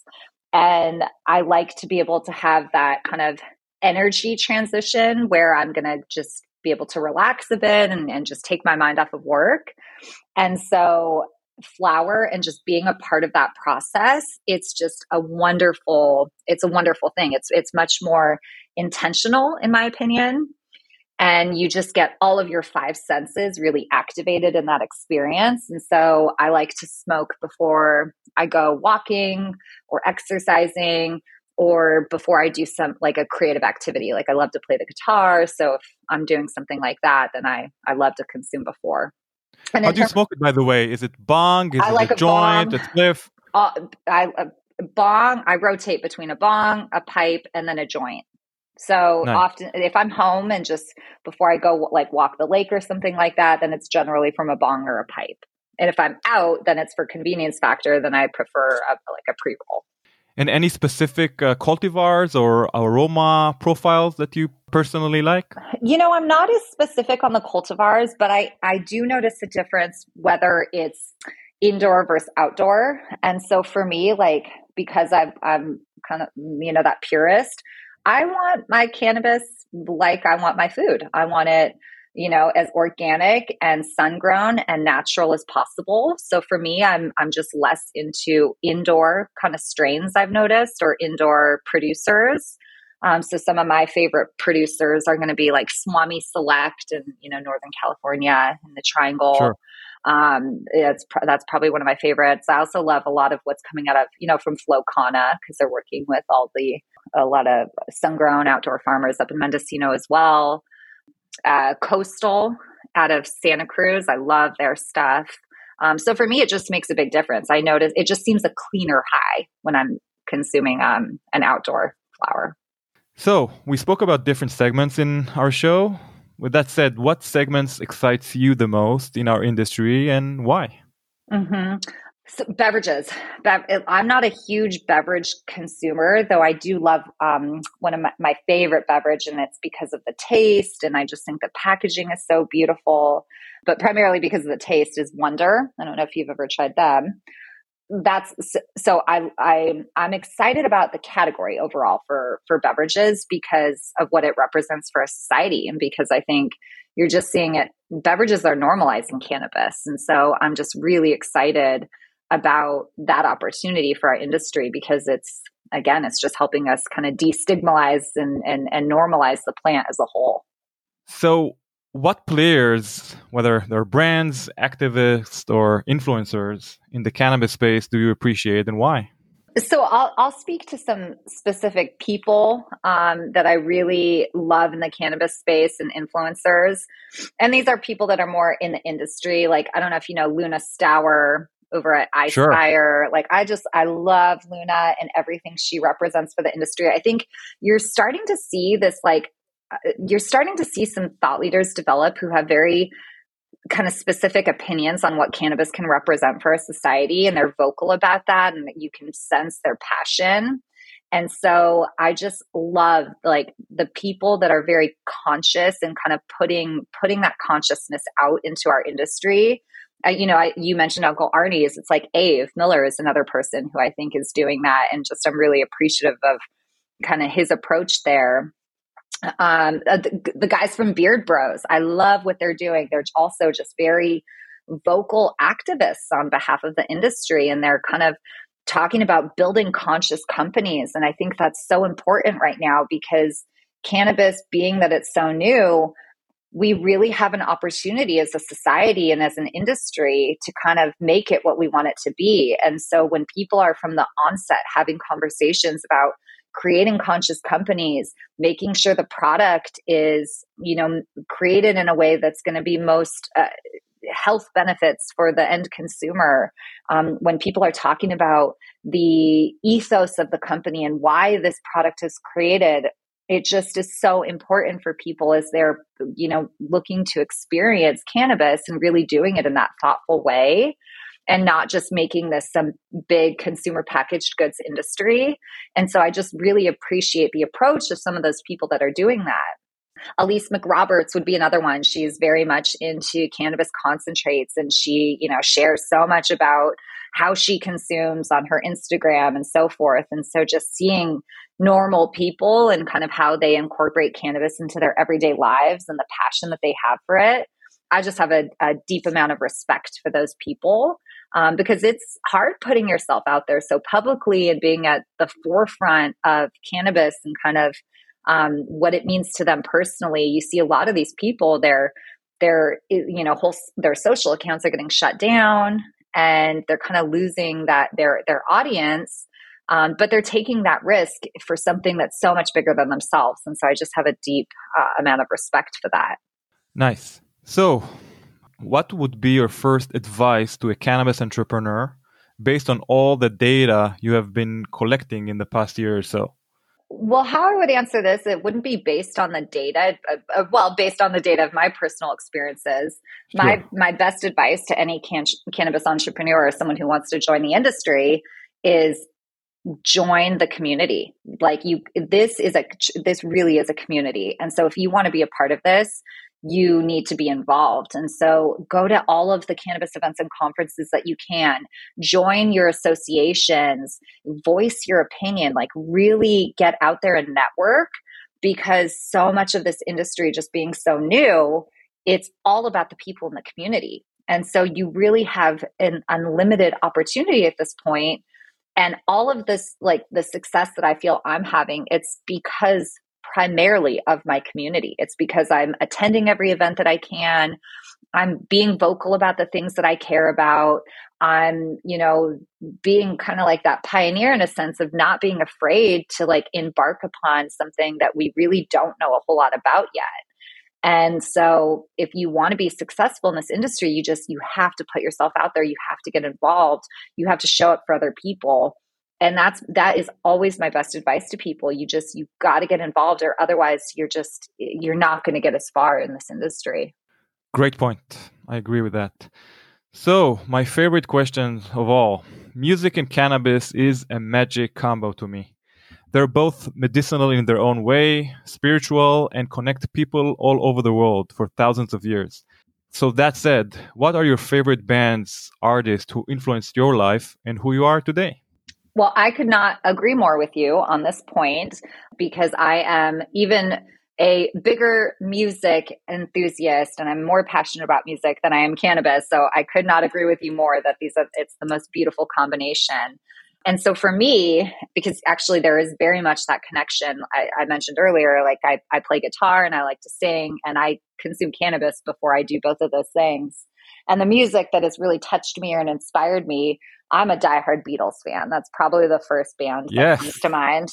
And I like to be able to have that kind of energy transition where I'm going to just be able to relax a bit and, and just take my mind off of work. And so flower and just being a part of that process, it's just a wonderful, it's a wonderful thing. It's, it's much more intentional in my opinion. And you just get all of your five senses really activated in that experience. And so I like to smoke before I go walking or exercising, or before I do some like a creative activity. Like I love to play the guitar. So if I'm doing something like that, then I, I love to consume before. And How do you smoke it, by the way? Is it bong? Is I it like a, a joint, bong. a spliff? Uh, I, a bong, I rotate between a bong, a pipe, and then a joint. So Nice. Often if I'm home and just before I go like walk the lake or something like that, then it's generally from a bong or a pipe. And if I'm out, then it's for convenience factor. Then I prefer a, like a pre-roll. And any specific uh, cultivars or aroma profiles that you personally like? You know, I'm not as specific on the cultivars, but I, I do notice a difference whether it's indoor versus outdoor. And so for me, like, because I've, I'm kind of, you know, that purist, I want my cannabis like I want my food. I want it, you know, as organic and sun-grown and natural as possible. So for me, I'm I'm just less into indoor kind of strains I've noticed, or indoor producers. Um, so some of my favorite producers are going to be like Swami Select in, you know, Northern California in the Triangle. Sure. Um, it's that's probably one of my favorites. I also love a lot of what's coming out of, you know, from Flowcana, because they're working with all the a lot of sun-grown outdoor farmers up in Mendocino as well. Uh, Coastal out of Santa Cruz. I love their stuff. Um, so for me, it just makes a big difference. I notice it just seems a cleaner high when I'm consuming um, an outdoor flower. So we spoke about different segments in our show. With that said, what segments excites you the most in our industry and why? Mm-hmm. So beverages. Be- I'm not a huge beverage consumer, though I do love um, one of my, my favorite beverage, and it's because of the taste. And I just think the packaging is so beautiful, but primarily because of the taste is Wonder. I don't know if you've ever tried them. That's so I, I, I'm excited about the category overall for, for beverages because of what it represents for a society. And because I think you're just seeing it, beverages are normalizing cannabis. And so I'm just really excited about that opportunity for our industry because it's, again, it's just helping us kind of destigmatize and, and, and normalize the plant as a whole. So what players, whether they're brands, activists, or influencers in the cannabis space, do you appreciate and why? So I'll I'll speak to some specific people um, that I really love in the cannabis space and influencers. And these are people that are more in the industry. Like, I don't know if you know Luna Stour over at iSpire. Sure. Like, I just, I love Luna and everything she represents for the industry. I think you're starting to see this, like, you're starting to see some thought leaders develop who have very kind of specific opinions on what cannabis can represent for a society. And they're vocal about that. And you can sense their passion. And so I just love like the people that are very conscious and kind of putting, putting that consciousness out into our industry. Uh, you know, I, you mentioned Uncle Arnie's. It's like Ave Miller is another person who I think is doing that. And just, I'm really appreciative of kind of his approach there. Um, the, the guys from Beard Bros, I love what they're doing. They're also just very vocal activists on behalf of the industry. And they're kind of talking about building conscious companies. And I think that's so important right now because cannabis, being that it's so new, we really have an opportunity as a society and as an industry to kind of make it what we want it to be. And so when people are from the onset having conversations about creating conscious companies, making sure the product is, you know, created in a way that's going to be most uh, health benefits for the end consumer. Um, when people are talking about the ethos of the company and why this product is created, it just is so important for people as they're, you know, looking to experience cannabis and really doing it in that thoughtful way and not just making this some big consumer packaged goods industry. And so I just really appreciate the approach of some of those people that are doing that. Elise McRoberts would be another one. She's very much into cannabis concentrates, and she, you know, shares so much about how she consumes on her Instagram and so forth. And so just seeing normal people and kind of how they incorporate cannabis into their everyday lives and the passion that they have for it, I just have a, a deep amount of respect for those people, um, because it's hard putting yourself out there so publicly and being at the forefront of cannabis and kind of um, what it means to them personally. You see a lot of these people, their, their, you know, whole, their social accounts are getting shut down, and they're kind of losing that their their audience, um, but they're taking that risk for something that's so much bigger than themselves. And so I just have a deep uh, amount of respect for that. Nice. So what would be your first advice to a cannabis entrepreneur based on all the data you have been collecting in the past year or so? Well, how I would answer this, it wouldn't be based on the data. Uh, uh, well, based on the data of my personal experiences. Sure. My my best advice to any can- cannabis entrepreneur or someone who wants to join the industry is join the community. Like you, this is a this really is a community, and so if you want to be a part of this, you need to be involved. And so go to all of the cannabis events and conferences that you can, join your associations, voice your opinion, like really get out there and network, because so much of this industry just being so new, it's all about the people in the community. And so you really have an unlimited opportunity at this point. And all of this, like the success that I feel I'm having, it's because primarily of my community. It's because I'm attending every event that I can. I'm being vocal about the things that I care about. I'm, you know, being kind of like that pioneer in a sense of not being afraid to like embark upon something that we really don't know a whole lot about yet. And so if you want to be successful in this industry, you just, you have to put yourself out there. You have to get involved. You have to show up for other people. And that's, that is always my best advice to people. You just, you got to get involved, or otherwise you're just, you're not going to get as far in this industry. Great point. I agree with that. So my favorite question of all, music and cannabis is a magic combo to me. They're both medicinal in their own way, spiritual, and connect people all over the world for thousands of years. So that said, what are your favorite bands, artists who influenced your life and who you are today? Well, I could not agree more with you on this point, because I am even a bigger music enthusiast and I'm more passionate about music than I am cannabis. So I could not agree with you more that these are, it's the most beautiful combination. And so for me, because actually there is very much that connection I, I mentioned earlier, like I, I play guitar and I like to sing, and I consume cannabis before I do both of those things. And the music that has really touched me and inspired me, I'm a diehard Beatles fan. That's probably the first band that yes. comes to mind.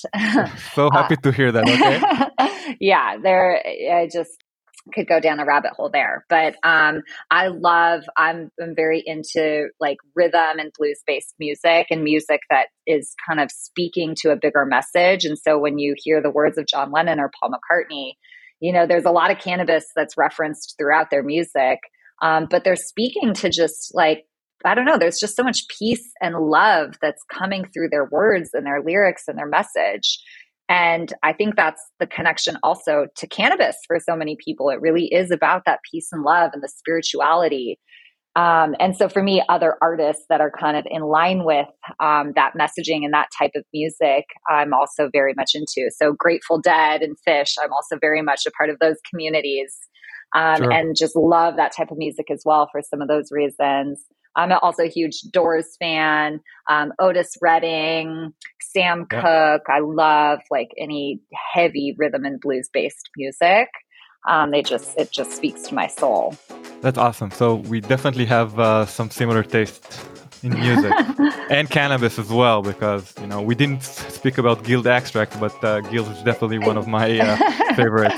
So happy uh, to hear that. Okay. Yeah, there. I just could go down a rabbit hole there. But um, I love. I'm, I'm very into like rhythm and blues based music, and music that is kind of speaking to a bigger message. And so when you hear the words of John Lennon or Paul McCartney, you know, there's a lot of cannabis that's referenced throughout their music. Um, but they're speaking to just like, I don't know, there's just so much peace and love that's coming through their words and their lyrics and their message. And I think that's the connection also to cannabis for so many people. It really is about that peace and love and the spirituality. Um, and so for me, other artists that are kind of in line with um, that messaging and that type of music, I'm also very much into. So Grateful Dead and Fish, I'm also very much a part of those communities. Um, sure. And just love that type of music as well for some of those reasons. I'm also a huge Doors fan, um, Otis Redding, Sam yeah. Cooke. I love like any heavy rhythm and blues based music. Um, they just, it just speaks to my soul. That's awesome. So we definitely have uh, some similar taste in music and cannabis as well, because, you know, we didn't speak about Guild Extract, but uh, Guild is definitely one of my uh, favorites.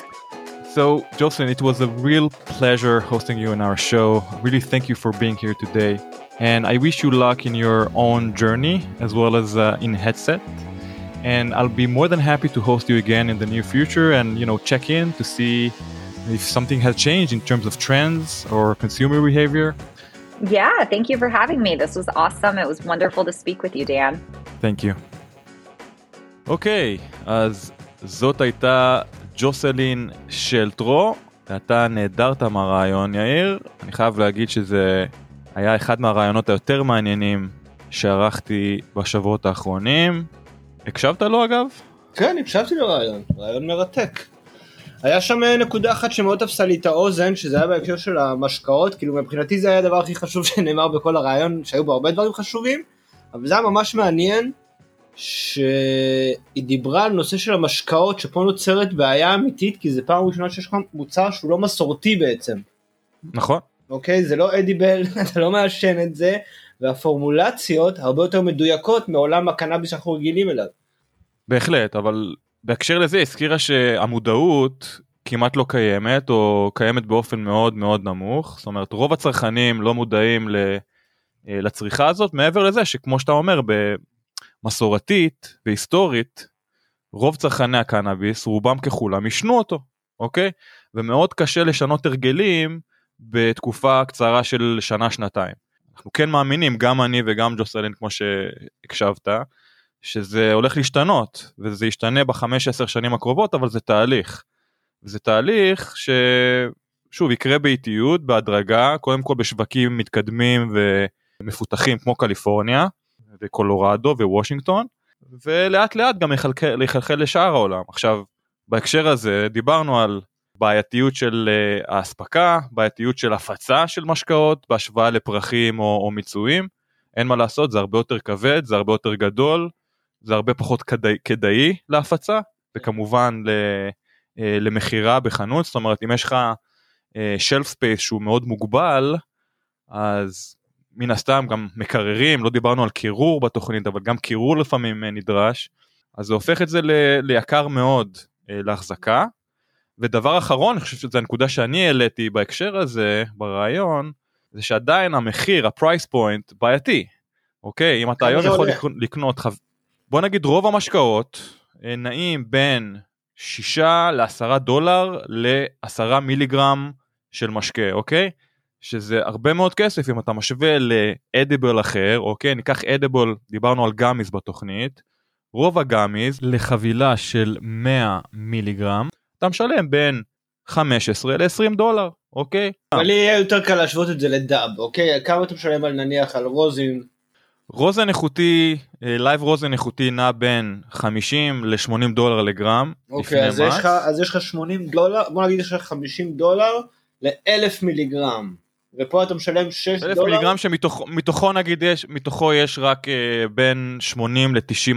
So, Jocelyn, it was a real pleasure hosting you on our show. Really thank you for being here today. And I wish you luck in your own journey, as well as uh, in Headset. and I'll be more than happy to host you again in the near future and, you know, check in to see if something has changed in terms of trends or consumer behavior. Yeah, thank you for having me. This was awesome. It was wonderful to speak with you, Dan. Thank you. אוקיי, אז זאת הייתה ג'וסלין שלטרו, ואתה נהדרת מהרעיון, יאיר. אני חייב להגיד שזה היה אחד מהרעיונות היותר מעניינים שערכתי בשבועות האחרונים. הקשבת לו אגב? כן, הקשבתי לרעיון, רעיון מרתק. היה שם נקודה אחת שמאוד תפסה לי את האוזן, שזה היה בהקשר של המשקאות, כאילו מבחינתי זה היה הדבר הכי חשוב שנאמר בכל הרעיון, שהיו בו הרבה דברים חשובים, אבל זה היה ממש מעניין, שהיא דיברה על נושא של המשקאות, שפה נוצרת בעיה אמיתית, כי זה פעם ראשונה שיש לך מוצר שהוא לא מסורתי בעצם. נכון. אוקיי, זה לא אדיבל, אתה לא מעשן את זה, והפורמולציות הרבה יותר מדויקות מעולם הקנאביס שאנחנו רגילים אליו. בהחלט, אבל בהקשר לזה הזכירה שהמודעות כמעט לא קיימת, או קיימת באופן מאוד מאוד נמוך, זאת אומרת רוב הצרכנים לא מודעים לצריכה הזאת, מעבר לזה שכמו שאתה אומר, במסורתית והיסטורית, רוב צרכני הקנאביס, רובם ככולם, ישנו אותו, אוקיי? ומאוד קשה לשנות הרגלים בתקופה קצרה של שנה-שנתיים. אנחנו כן מאמינים, גם אני וגם ג'וסלין, כמו שהקשבת, שזה הולך להשתנות, וזה ישתנה בחמש עשר שנים הקרובות, אבל זה תהליך. וזה תהליך ששוב, יקרה באיטיות, בהדרגה, קודם כל בשווקים מתקדמים ומפותחים, כמו קליפורניה, וקולורדו ווושינגטון, ולאט לאט גם יחלחל, יחלחל לשאר העולם. עכשיו, בהקשר הזה, דיברנו על בעייתיות של uh, ההספקה, בעייתיות של הפצה של משקאות, בהשוואה לפרחים או, או מיצויים, אין מה לעשות, זה הרבה יותר כבד, זה הרבה יותר גדול, זה הרבה פחות כדאי, כדאי להפצה, וכמובן ל, uh, למחירה בחנות, זאת אומרת, אם יש לך uh, shelf space שהוא מאוד מוגבל, אז מן הסתם גם מקררים, לא דיברנו על קירור בתוכנית, אבל גם קירור לפעמים נדרש, אז זה הופך את זה ל- ליקר מאוד uh, להחזקה, ודבר אחרון, אני חושב שזו הנקודה שאני העליתי בהקשר הזה, ברעיון, זה שעדיין המחיר, הפרייס פוינט, בעייתי, אוקיי? אם אתה היום יכול לקנות, בוא נגיד רוב המשקאות, נעים בין שישה לעשרה דולר, לעשרה מיליגרם של משקה, אוקיי? שזה הרבה מאוד כסף, אם אתה משווה לאדיבל אחר, אוקיי? ניקח אדיבל, דיברנו על גאמיז בתוכנית, רוב הגאמיז לחבילה של מאה מיליגרם, אתה משלם בין חמש עשרה ל-עשרים דולר, אוקיי? אבל לי יהיה יותר קל להשוות את זה לדאב, אוקיי? כמה אתה משלם על נניח על רוזין? רוזן איכותי, לייב רוזן איכותי נע בין חמישים ל-שמונים דולר לגרם. אוקיי, אז יש לך, אז יש לך שמונים דולר, בוא נגיד יש לך חמישים דולר ל-אלף מיליגרם, ופה אתה משלם שש דולר. אלף מיליגרם שמתוכו נגיד יש, מתוכו יש רק בין שמונים ל-תשעים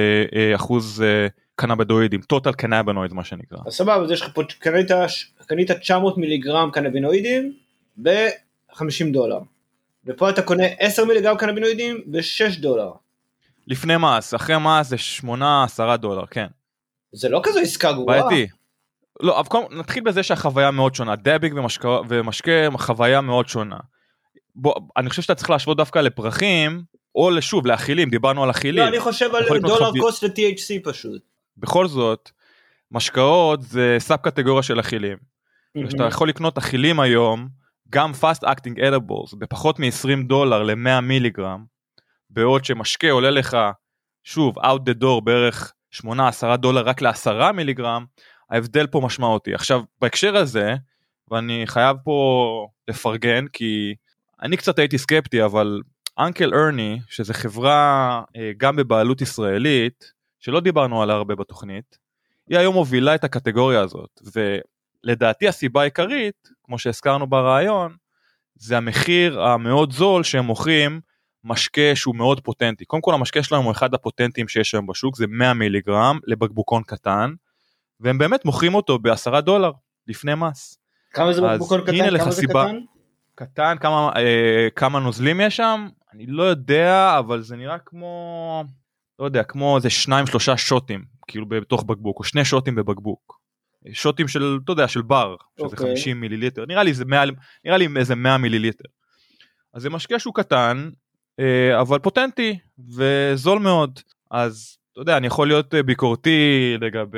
אחוז קנאבינואידים, טוטל קנאבינואיד מה שנקרא. אז סבבה, אז יש לך פה, קנית, קנית תשע מאות מיליגרם קנאבינואידים ב-חמישים דולר. ופה אתה קונה עשרה מיליגרם קנאבינואידים ב-שש דולר. לפני מס, אחרי מס זה שמונה עשרה דולר, כן. זה לא כזו עסקה גרועה. בעייתי. לא, אבל נתחיל בזה שהחוויה מאוד שונה, דאביג ומשקה, ומשקה חוויה מאוד שונה. בוא, אני חושב שאתה צריך להשוות דווקא לפרחים, או לשוב, לאכילים, דיברנו על אכילים. לא, אני חושב על דולר קוסט ל-טי אייץ' סי פשוט. בכל זאת, משקאות זה סאב קטגוריה של אכילים. שאתה יכול לקנות אכילים היום, גם fast acting edibles, בפחות מ-עשרים דולר ל-מאה מיליגרם, בעוד שמשקה עולה לך, שוב, out the door בערך שמונה עשרה דולר רק ל-עשרה מיליגרם, ההבדל פה משמעותי. עכשיו, בהקשר הזה, ואני חייב פה לפרגן, כי אני קצת הייתי סקפטי, אבל אנקל ארני, שזה חברה גם בבעלות ישראלית, שלא דיברנו עליה הרבה בתוכנית, היא היום מובילה את הקטגוריה הזאת, ולדעתי הסיבה העיקרית, כמו שהזכרנו ברעיון, זה המחיר המאוד זול שהם מוכרים משקה שהוא מאוד פוטנטי. קודם כל המשקה שלהם הוא אחד הפוטנטיים שיש היום בשוק, זה מאה מיליגרם לבקבוקון קטן, והם באמת מוכרים אותו בעשרה דולר לפני מס. כמה זה בקבוקון קטן? כמה זה קטן? קטן, כמה, אה, כמה נוזלים יש שם? אני לא יודע, אבל זה נראה כמו, לא יודע, כמו איזה שניים, שלושה שוטים, כאילו בתוך בקבוק, או שני שוטים בבקבוק. שוטים של, אתה יודע, של בר, שזה okay. חמישים מיליליטר. נראה לי, זה מאה, נראה לי איזה מאה מיליליטר. אז זה משקה שהוא קטן, אה, אבל פוטנטי, וזול מאוד. אז, אתה יודע, אני יכול להיות ביקורתי לגבי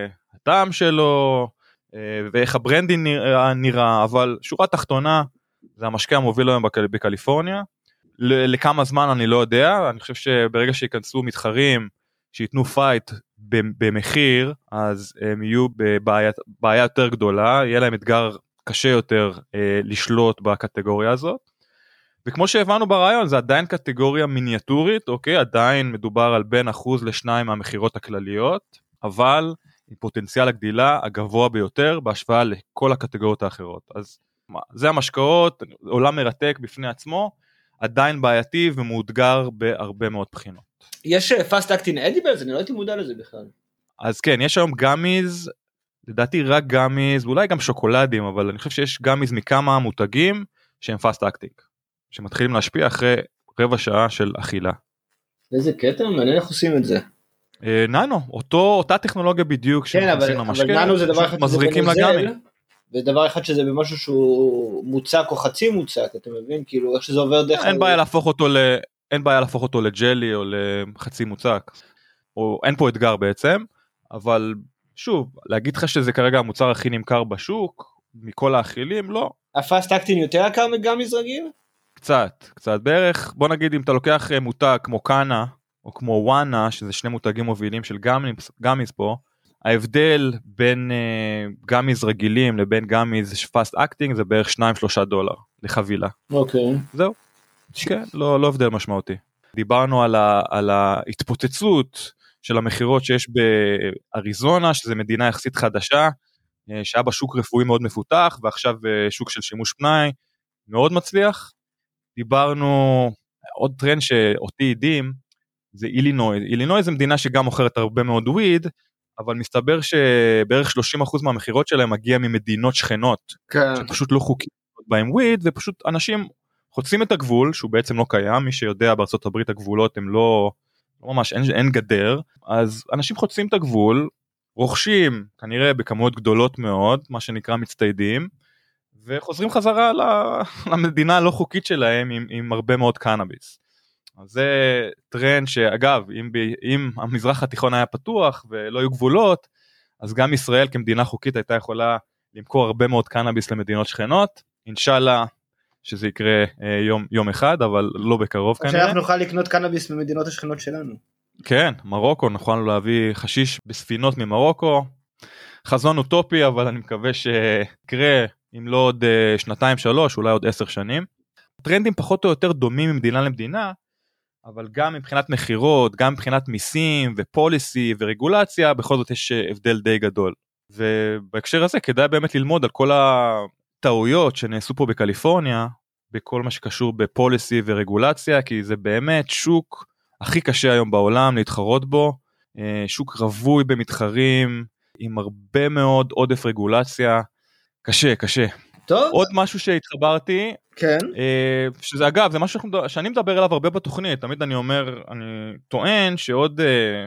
הטעם שלו, ואיך הברנדינג נראה, נראה, אבל שורה תחתונה, זה המשקה המוביל היום בקליפורניה, לכמה זמן אני לא יודע, אני חושב שברגע שיכנסו מתחרים, שיתנו פייט במחיר, אז הם יהיו בבעיה בעיה יותר גדולה, יהיה להם אתגר קשה יותר אה, לשלוט בקטגוריה הזאת, וכמו שהבנו ברעיון, זה עדיין קטגוריה מיניאטורית, אוקיי, עדיין מדובר על בין אחוז לשניים מהמחירות הכלליות, אבל עם פוטנציאל הגדילה הגבוה ביותר, בהשוואה לכל הקטגוריות האחרות, אז מה, זה המשקאות, עולם מרתק בפני עצמו, עדיין בעייתי ומאותגר בהרבה מאוד בחינות. יש פאסט אקטינג אדיבלס, אני לא הייתי מודע לזה בכלל. אז כן, יש היום גאמיז, לדעתי רק גאמיז, ואולי גם שוקולדים, אבל אני חושב שיש גאמיז מכמה מותגים שהם פאסט אקטינג, שמתחילים להשפיע אחרי רבע שעה של אכילה. איזה קטע, מעניין איך עושים את זה. ננו, אותו, אותה טכנולוגיה בדיוק, כן, אבל, אבל ננו זה דבר אחד שזה בנוזל, ודבר אחד שזה במשהו שהוא מוצק או חצי מוצק, אתה מבין? כאילו, איך שזה עובר דרך... אין בעיה להפוך אותו ל... אין בעיה להפוך אותו לג'לי או לחצי מוצק, או אין פה אתגר בעצם, אבל שוב, להגיד לך שזה כרגע המוצר הכי נמכר בשוק, מכל האכילים, לא. הפאסט אקטינג יותר יקר מגאמיז רגיל? קצת, קצת בערך, בוא נגיד אם אתה לוקח מותג כמו קאנה, או כמו וואנה, שזה שני מותגים מובילים של גאמיז, גאמיז פה, ההבדל בין uh, גאמיז רגילים לבין גאמיז פאסט אקטינג, זה בערך שניים שלושה דולר לחבילה. אוקיי. Okay. זהו. כן, לא, לא הבדל משמעותי. דיברנו על, ה, על ההתפוצצות של המחירות שיש באריזונה, שזה מדינה יחסית חדשה, שהיה בה שוק רפואי מאוד מפותח, ועכשיו שוק של שימוש פנאי מאוד מצליח. דיברנו, עוד טרנד שאותי עדים, זה אילינוי. אילינוי זה מדינה שגם מוכרת הרבה מאוד וויד, אבל מסתבר שבערך שלושים אחוז מהמחירות שלהם מגיע ממדינות שכנות, כן. שפשוט לא חוקיים בהם וויד, ופשוט אנשים חוצים את הגבול, שהוא בעצם לא קיים, מי שיודע בארצות הברית הגבולות הם לא, לא ממש, אין, אין גדר, אז אנשים חוצים את הגבול, רוכשים כנראה בכמויות גדולות מאוד, מה שנקרא מצטיידים, וחוזרים חזרה למדינה הלא חוקית שלהם עם, עם הרבה מאוד קנאביס. אז זה טרנד שאגב, אם, ב, אם המזרח התיכון היה פתוח ולא היו גבולות, אז גם ישראל כמדינה חוקית הייתה יכולה למכור הרבה מאוד קנאביס למדינות שכנות, אינשאללה, שזה יקרה אה, יום, יום אחד, אבל לא בקרוב כנראה. שאנחנו נוכל לקנות קנאביס במדינות השכנות שלנו. כן, מרוקו, נוכל להביא חשיש בספינות ממרוקו, חזון אוטופי, אבל אני מקווה שיקרה, אם לא עוד אה, שנתיים שלוש, אולי עוד עשר שנים. טרנדים פחות או יותר דומים ממדינה למדינה, אבל גם מבחינת מחירות, גם מבחינת מיסים ופוליסי ורגולציה, בכל זאת יש הבדל די גדול. ובהקשר הזה כדאי באמת ללמוד על כל ה... טעויות שנעשו פה בקליפורניה, בכל מה שקשור בפוליסי ורגולציה, כי זה באמת שוק הכי קשה היום בעולם להתחרות בו, שוק רווי במתחרים, עם הרבה מאוד עודף רגולציה, קשה, קשה. טוב. עוד משהו שהתחברתי, כן. שזה אגב, זה משהו שאני מדבר עליו הרבה בתוכנית, תמיד אני אומר, אני טוען שעוד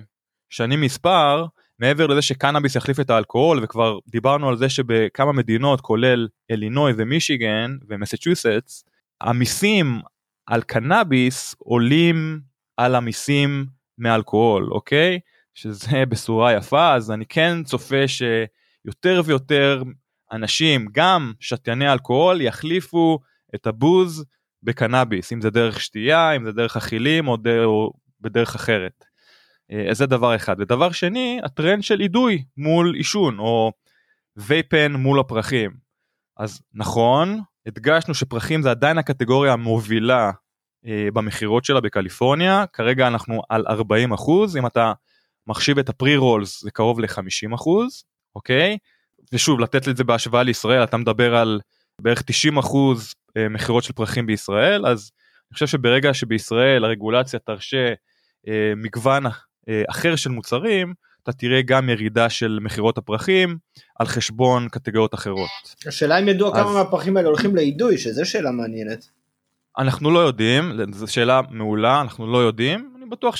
שנים מספר, מעבר לזה שקנאביס יחליף את האלכוהול, וכבר דיברנו על זה שבכמה מדינות, כולל אלינוי ומישיגן ומסצ'וסטס, המיסים על קנאביס עולים על המיסים מאלכוהול, אוקיי? שזה בשורה יפה, אז אני כן צופה שיותר ויותר אנשים, גם שתייני אלכוהול, יחליפו את הבוז בקנאביס, אם זה דרך שתייה, אם זה דרך אכילים או, דר, או בדרך אחרת. אז זה דבר אחד. ודבר שני, הטרנד של אידוי מול אישון, או וייפן מול הפרחים. אז נכון, הדגשנו שפרחים זה עדיין הקטגוריה המובילה אה, במחירות שלה בקליפורניה, כרגע אנחנו על ארבעים אחוז, אם אתה מחשיב את הפרי-רולס זה קרוב ל-חמישים אחוז, אוקיי? ושוב, לתת את זה בהשוואה לישראל, אתה מדבר על בערך תשעים אחוז אה, מחירות של פרחים בישראל, אז אני חושב שברגע שבישראל הרגולציה תרשה אה, מגוון אחר של מוצרים, אתה תראה גם ירידה של מחירות הפרחים, על חשבון קטגוריות אחרות. השאלה אם ידוע אז... כמה מהפרחים האלה הולכים לאידוי, שזו שאלה מעניינת. אנחנו לא יודעים, זו שאלה מעולה, אנחנו לא יודעים, אני בטוח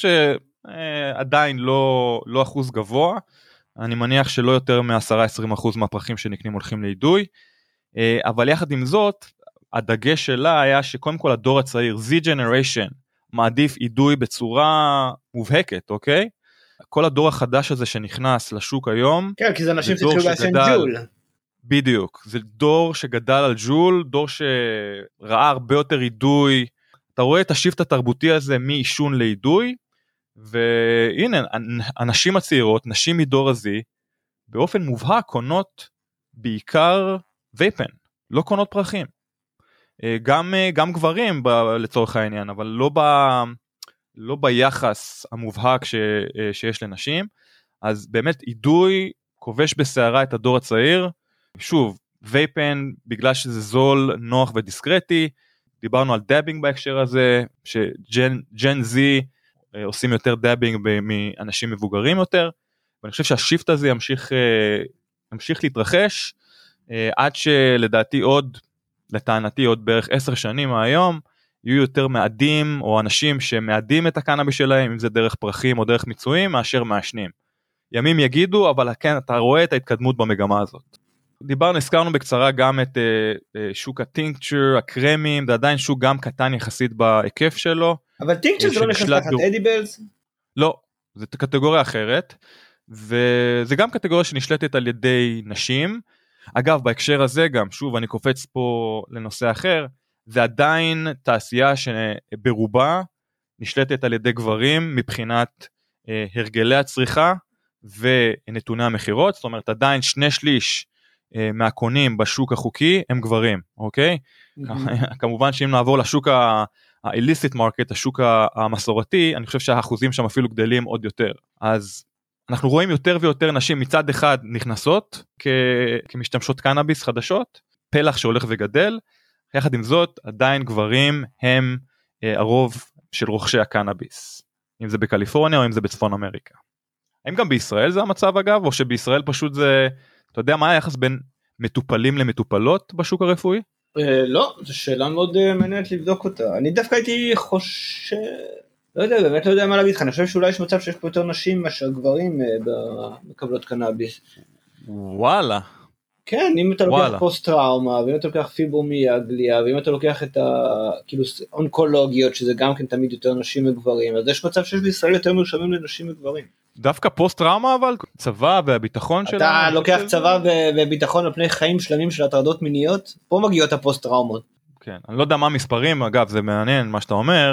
שעדיין לא, לא אחוז גבוה, אני מניח שלא יותר מ-עשרה עד עשרים אחוז מהפרחים שנקנים הולכים לאידוי, אבל יחד עם זאת, הדגש שלה היה שקודם כל הדור הצעיר, Z Generation, מעדיף אידוי בצורה מובהקת, אוקיי? כל הדור החדש הזה שנכנס לשוק היום, כן, כי זה אנשים שצריכים לעשן ג'ול. בדיוק, זה דור שגדל על ג'ול, דור שראה הרבה יותר אידוי, אתה רואה את השיפט התרבותי הזה מאישון לאידוי, והנה, הנשים הצעירות, נשים מדור הזי, באופן מובהק קונות בעיקר וייפן, לא קונות פרחים. גם, גם גברים ב, לצורך העניין, אבל לא, ב, לא ביחס המובהק ש, שיש לנשים, אז באמת אידוי כובש בסערה את הדור הצעיר, שוב, וייפן בגלל שזה זול, נוח ודיסקרטי, דיברנו על דאבינג בהקשר הזה, שג'ן זי עושים יותר דאבינג מאנשים מבוגרים יותר, ואני חושב שהשיפט הזה ימשיך, ימשיך להתרחש, עד שלדעתי עוד, לטענתי עוד בערך עשר שנים מהיום, יהיו יותר מעדים או אנשים שמעדים את הקנאביס שלהם, אם זה דרך פרחים או דרך מיצויים, מאשר מעשנים. ימים יגידו, אבל כן, אתה רואה את ההתקדמות במגמה הזאת. דיברנו, הזכרנו בקצרה גם את uh, uh, שוק הטינקצ'ר, הקרמים, זה עדיין שוק גם קטן יחסית בהיקף שלו. אבל טינקצ'ר זה לא נכנס תחת אדיבלס? לא, זו קטגוריה אחרת, וזה גם קטגוריה שנשלטת על ידי נשים. אגב, בהקשר הזה גם, שוב, אני קופץ פה לנושא אחר, זה עדיין תעשייה שברובה נשלטת על ידי גברים מבחינת uh, הרגלי הצריכה ונתוני המחירות, זאת אומרת עדיין שני שליש מהקונים בשוק החוקי הם גברים, אוקיי? כמובן שאם נעבור לשוק ה-illicit market, השוק המסורתי, אני חושב שהאחוזים שם אפילו גדלים עוד יותר. אז אנחנו רואים יותר ויותר נשים מצד אחד נכנסות כמשתמשות קנאביס חדשות, פלח שהולך וגדל, יחד עם זאת עדיין גברים הם הרוב של רוכשי הקנאביס, אם זה בקליפורניה או אם זה בצפון אמריקה. האם גם בישראל זה המצב אגב, או שבישראל פשוט זה... אתה יודע מה היחס בין מטופלים למטופלות בשוק הרפואי? לא, זו שאלה מאוד מעניינת לבדוק אותה. אני דווקא הייתי חושב, לא יודע, באמת לא יודע מה להגיד לך, אני חושב שאולי יש מצב שיש פה יותר נשים מאשר גברים מקבלות קנאביס. וואלה. כן, אם אתה לוקח פוסט טראומה, ואם אתה לוקח פיברומיאלגיה, ואם אתה לוקח את האונקולוגיות, שזה גם כן תמיד יותר נשים מגברים, אז יש מצב שיש בישראל יותר מרשמים לנשים מגברים. דווקא פוסט טראומה אבל, צבא והביטחון שלנו. אתה לוקח צבא וביטחון על פני חיים שלמים של הטרדות מיניות, פה מגיעות הפוסט טראומות. כן, אני לא יודע מה המספרים, אגב זה מעניין מה שאתה אומר,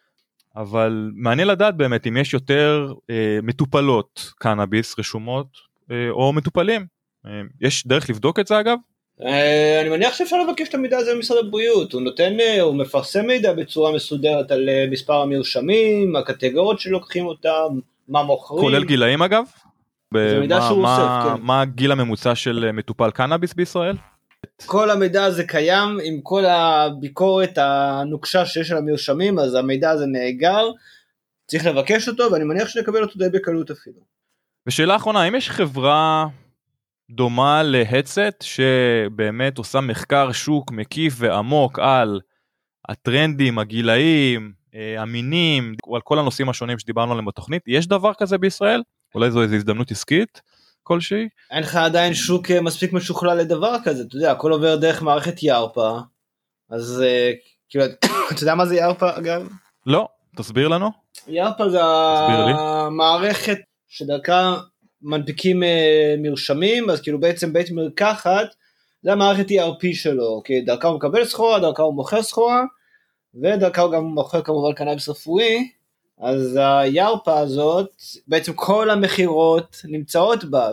אבל מעניין לדעת באמת אם יש יותר אה, מטופלות קנאביס רשומות, אה, או מטופלים. אה, יש דרך לבדוק את זה אגב? אה, אני מניח שאפשר לבקש את המידע הזה במשרד הבריאות, הוא נותן, הוא מפרסם מידע בצורה מסודרת על מספר המרשמים, הקטגוריות שלוקחים אותם, מה מוכרים. כולל גילאים אגב? זה מידע שהוא מה, אוסף, כן. מה הגיל הממוצע של מטופל קנאביס בישראל? כל המידע הזה קיים, עם כל הביקורת הנוקשה שיש על המרשמים, אז המידע הזה נאגר, צריך לבקש אותו, ואני מניח שנקבל אותו די בקלות אפילו. ושאלה אחרונה, האם יש חברה דומה להדסט, שבאמת עושה מחקר שוק מקיף ועמוק על הטרנדים, הגילאים, המינים, על כל הנושאים השונים שדיברנו עליהם בתוכנית? יש דבר כזה בישראל? אולי זו איזו הזדמנות עסקית כלשהי? אין לך עדיין שוק מספיק משוכלל לדבר כזה, אתה יודע, הכל עובר דרך מערכת יארפה, אז כאילו, אתה יודע מה זה יארפה אגב? לא, תסביר לנו. יארפה זה המערכת שדרכה מנפיקים מרשמים, אז כאילו בעצם בית מרקחת, זה המערכת E R P שלו, כי דרכה הוא מקבל סחורה, דרכה הוא מוכר סחורה, ודרכה הוא גם מוכר כמובן קנאביס רפואי, אז היארפה הזאת, בעצם כל המחירות נמצאות בה,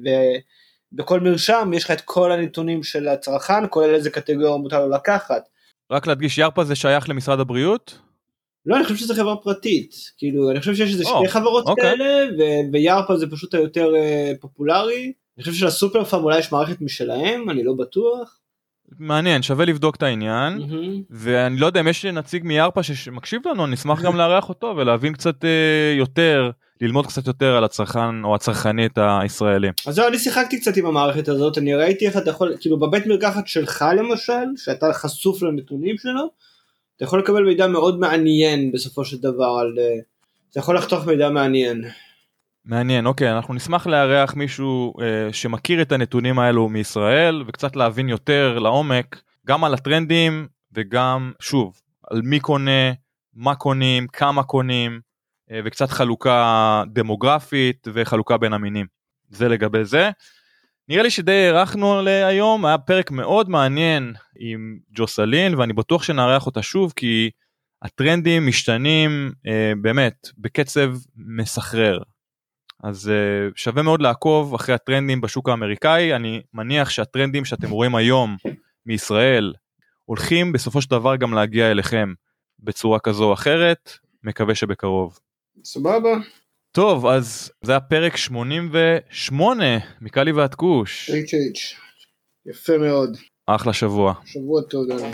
ובכל מרשם יש לך את כל הנתונים של הצרכן, כולל איזה קטגוריה מותר לו לקחת. רק להדגיש, יארפה זה שייך למשרד הבריאות? לא, אני חושב שזה חברה פרטית, כאילו, אני חושב שיש איזה שתי חברות כאלה, ויארפה זה פשוט היותר פופולרי, אני חושב שלסופר פארם אולי יש מערכת משלהם, אני לא בטוח. מעניין, שווה לבדוק את העניין, ואני לא יודע אם יש נציג מיארפה שמקשיב לנו, נשמח גם לארח אותו, ולהבין קצת יותר, ללמוד קצת יותר על הצרכן או הצרכנית הישראלי. אז זהו, אני שיחקתי קצת עם המערכת הזאת, אני ראיתי איך אתה יכול, כאילו בבית מרקחת שלך למשל, שאתה חשוף לנתונים שלו, אתה יכול לקבל מידע מאוד מעניין בסופו של דבר, על, אתה יכול לחתוך מידע מעניין. מעניין, אוקיי, אנחנו נשמח לארח מישהו אה, שמכיר את הנתונים האלו מישראל, וקצת להבין יותר לעומק, גם על הטרנדים, וגם, שוב, על מי קונה, מה קונים, כמה קונים, וקצת חלוקה דמוגרפית וחלוקה בין המינים. זה לגבי זה. נראה לי שדי ערכנו להיום, היה פרק מאוד מעניין עם ג'וסלין, ואני בטוח שנערך אותה שוב, כי הטרנדים משתנים באמת בקצב מסחרר. אז שווה מאוד לעקוב אחרי הטרנדים בשוק האמריקאי, אני מניח שהטרנדים שאתם רואים היום מישראל, הולכים בסופו של דבר גם להגיע אליכם בצורה כזו או אחרת, מקווה שבקרוב. סבבה. טוב, אז זה היה פרק שמונים ושמונה מקלי ועד כוש. אייץ' אייץ'. יפה מאוד. אחלה שבוע. שבוע טוב, דני.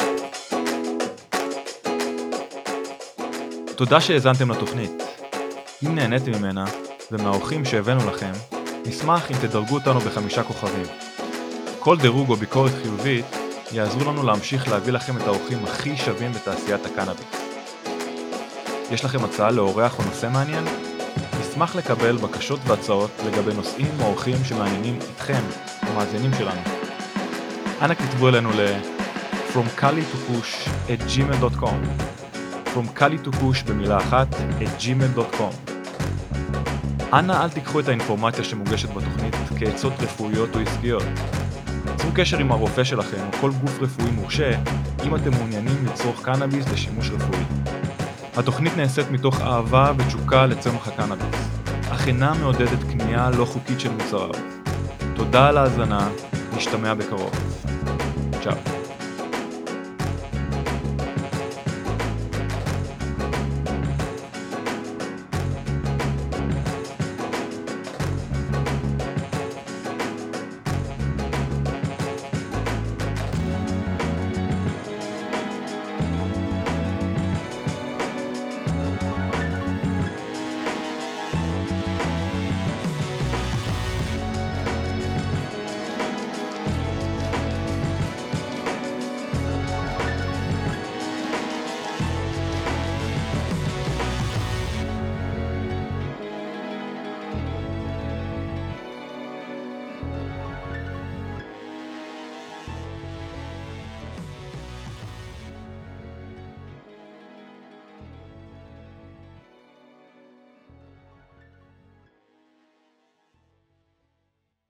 תודה שהאזנתם לתוכנית. אם נהניתם ממנה ומהאורחים שהבאנו לכם, נשמח אם תדרגו אותנו בחמישה כוכבים. כל דירוג או ביקורת חיובית יעזרו לנו להמשיך להביא לכם את האורחים הכי שווים בתעשיית הקנאביס. יש לכם הצעה לאורח או נושא מעניין? נשמח לקבל בקשות והצעות לגבי נושאים או אורחים שמעניינים אתכם, המאזינים שלנו. אנא כתבו אלינו ל from kali to push at gmail dot com from kali to push במילה אחת at gmail dot com. אנא אל תיקחו את האינפורמציה שמוגשת בתוכנית כעצות רפואיות או עסקיות. צרו קשר עם הרופא שלכם או כל גוף רפואי מורשה אם אתם מעוניינים לצרוך קנאביס לשימוש רפואי. התוכנית נעשית מתוך אהבה ותשוקה לצמח הקנאביס, אך אינה מעודדת קנייה לא חוקית של מוצריו. תודה על ההאזנה, נשתמע בקרוב. צ'או.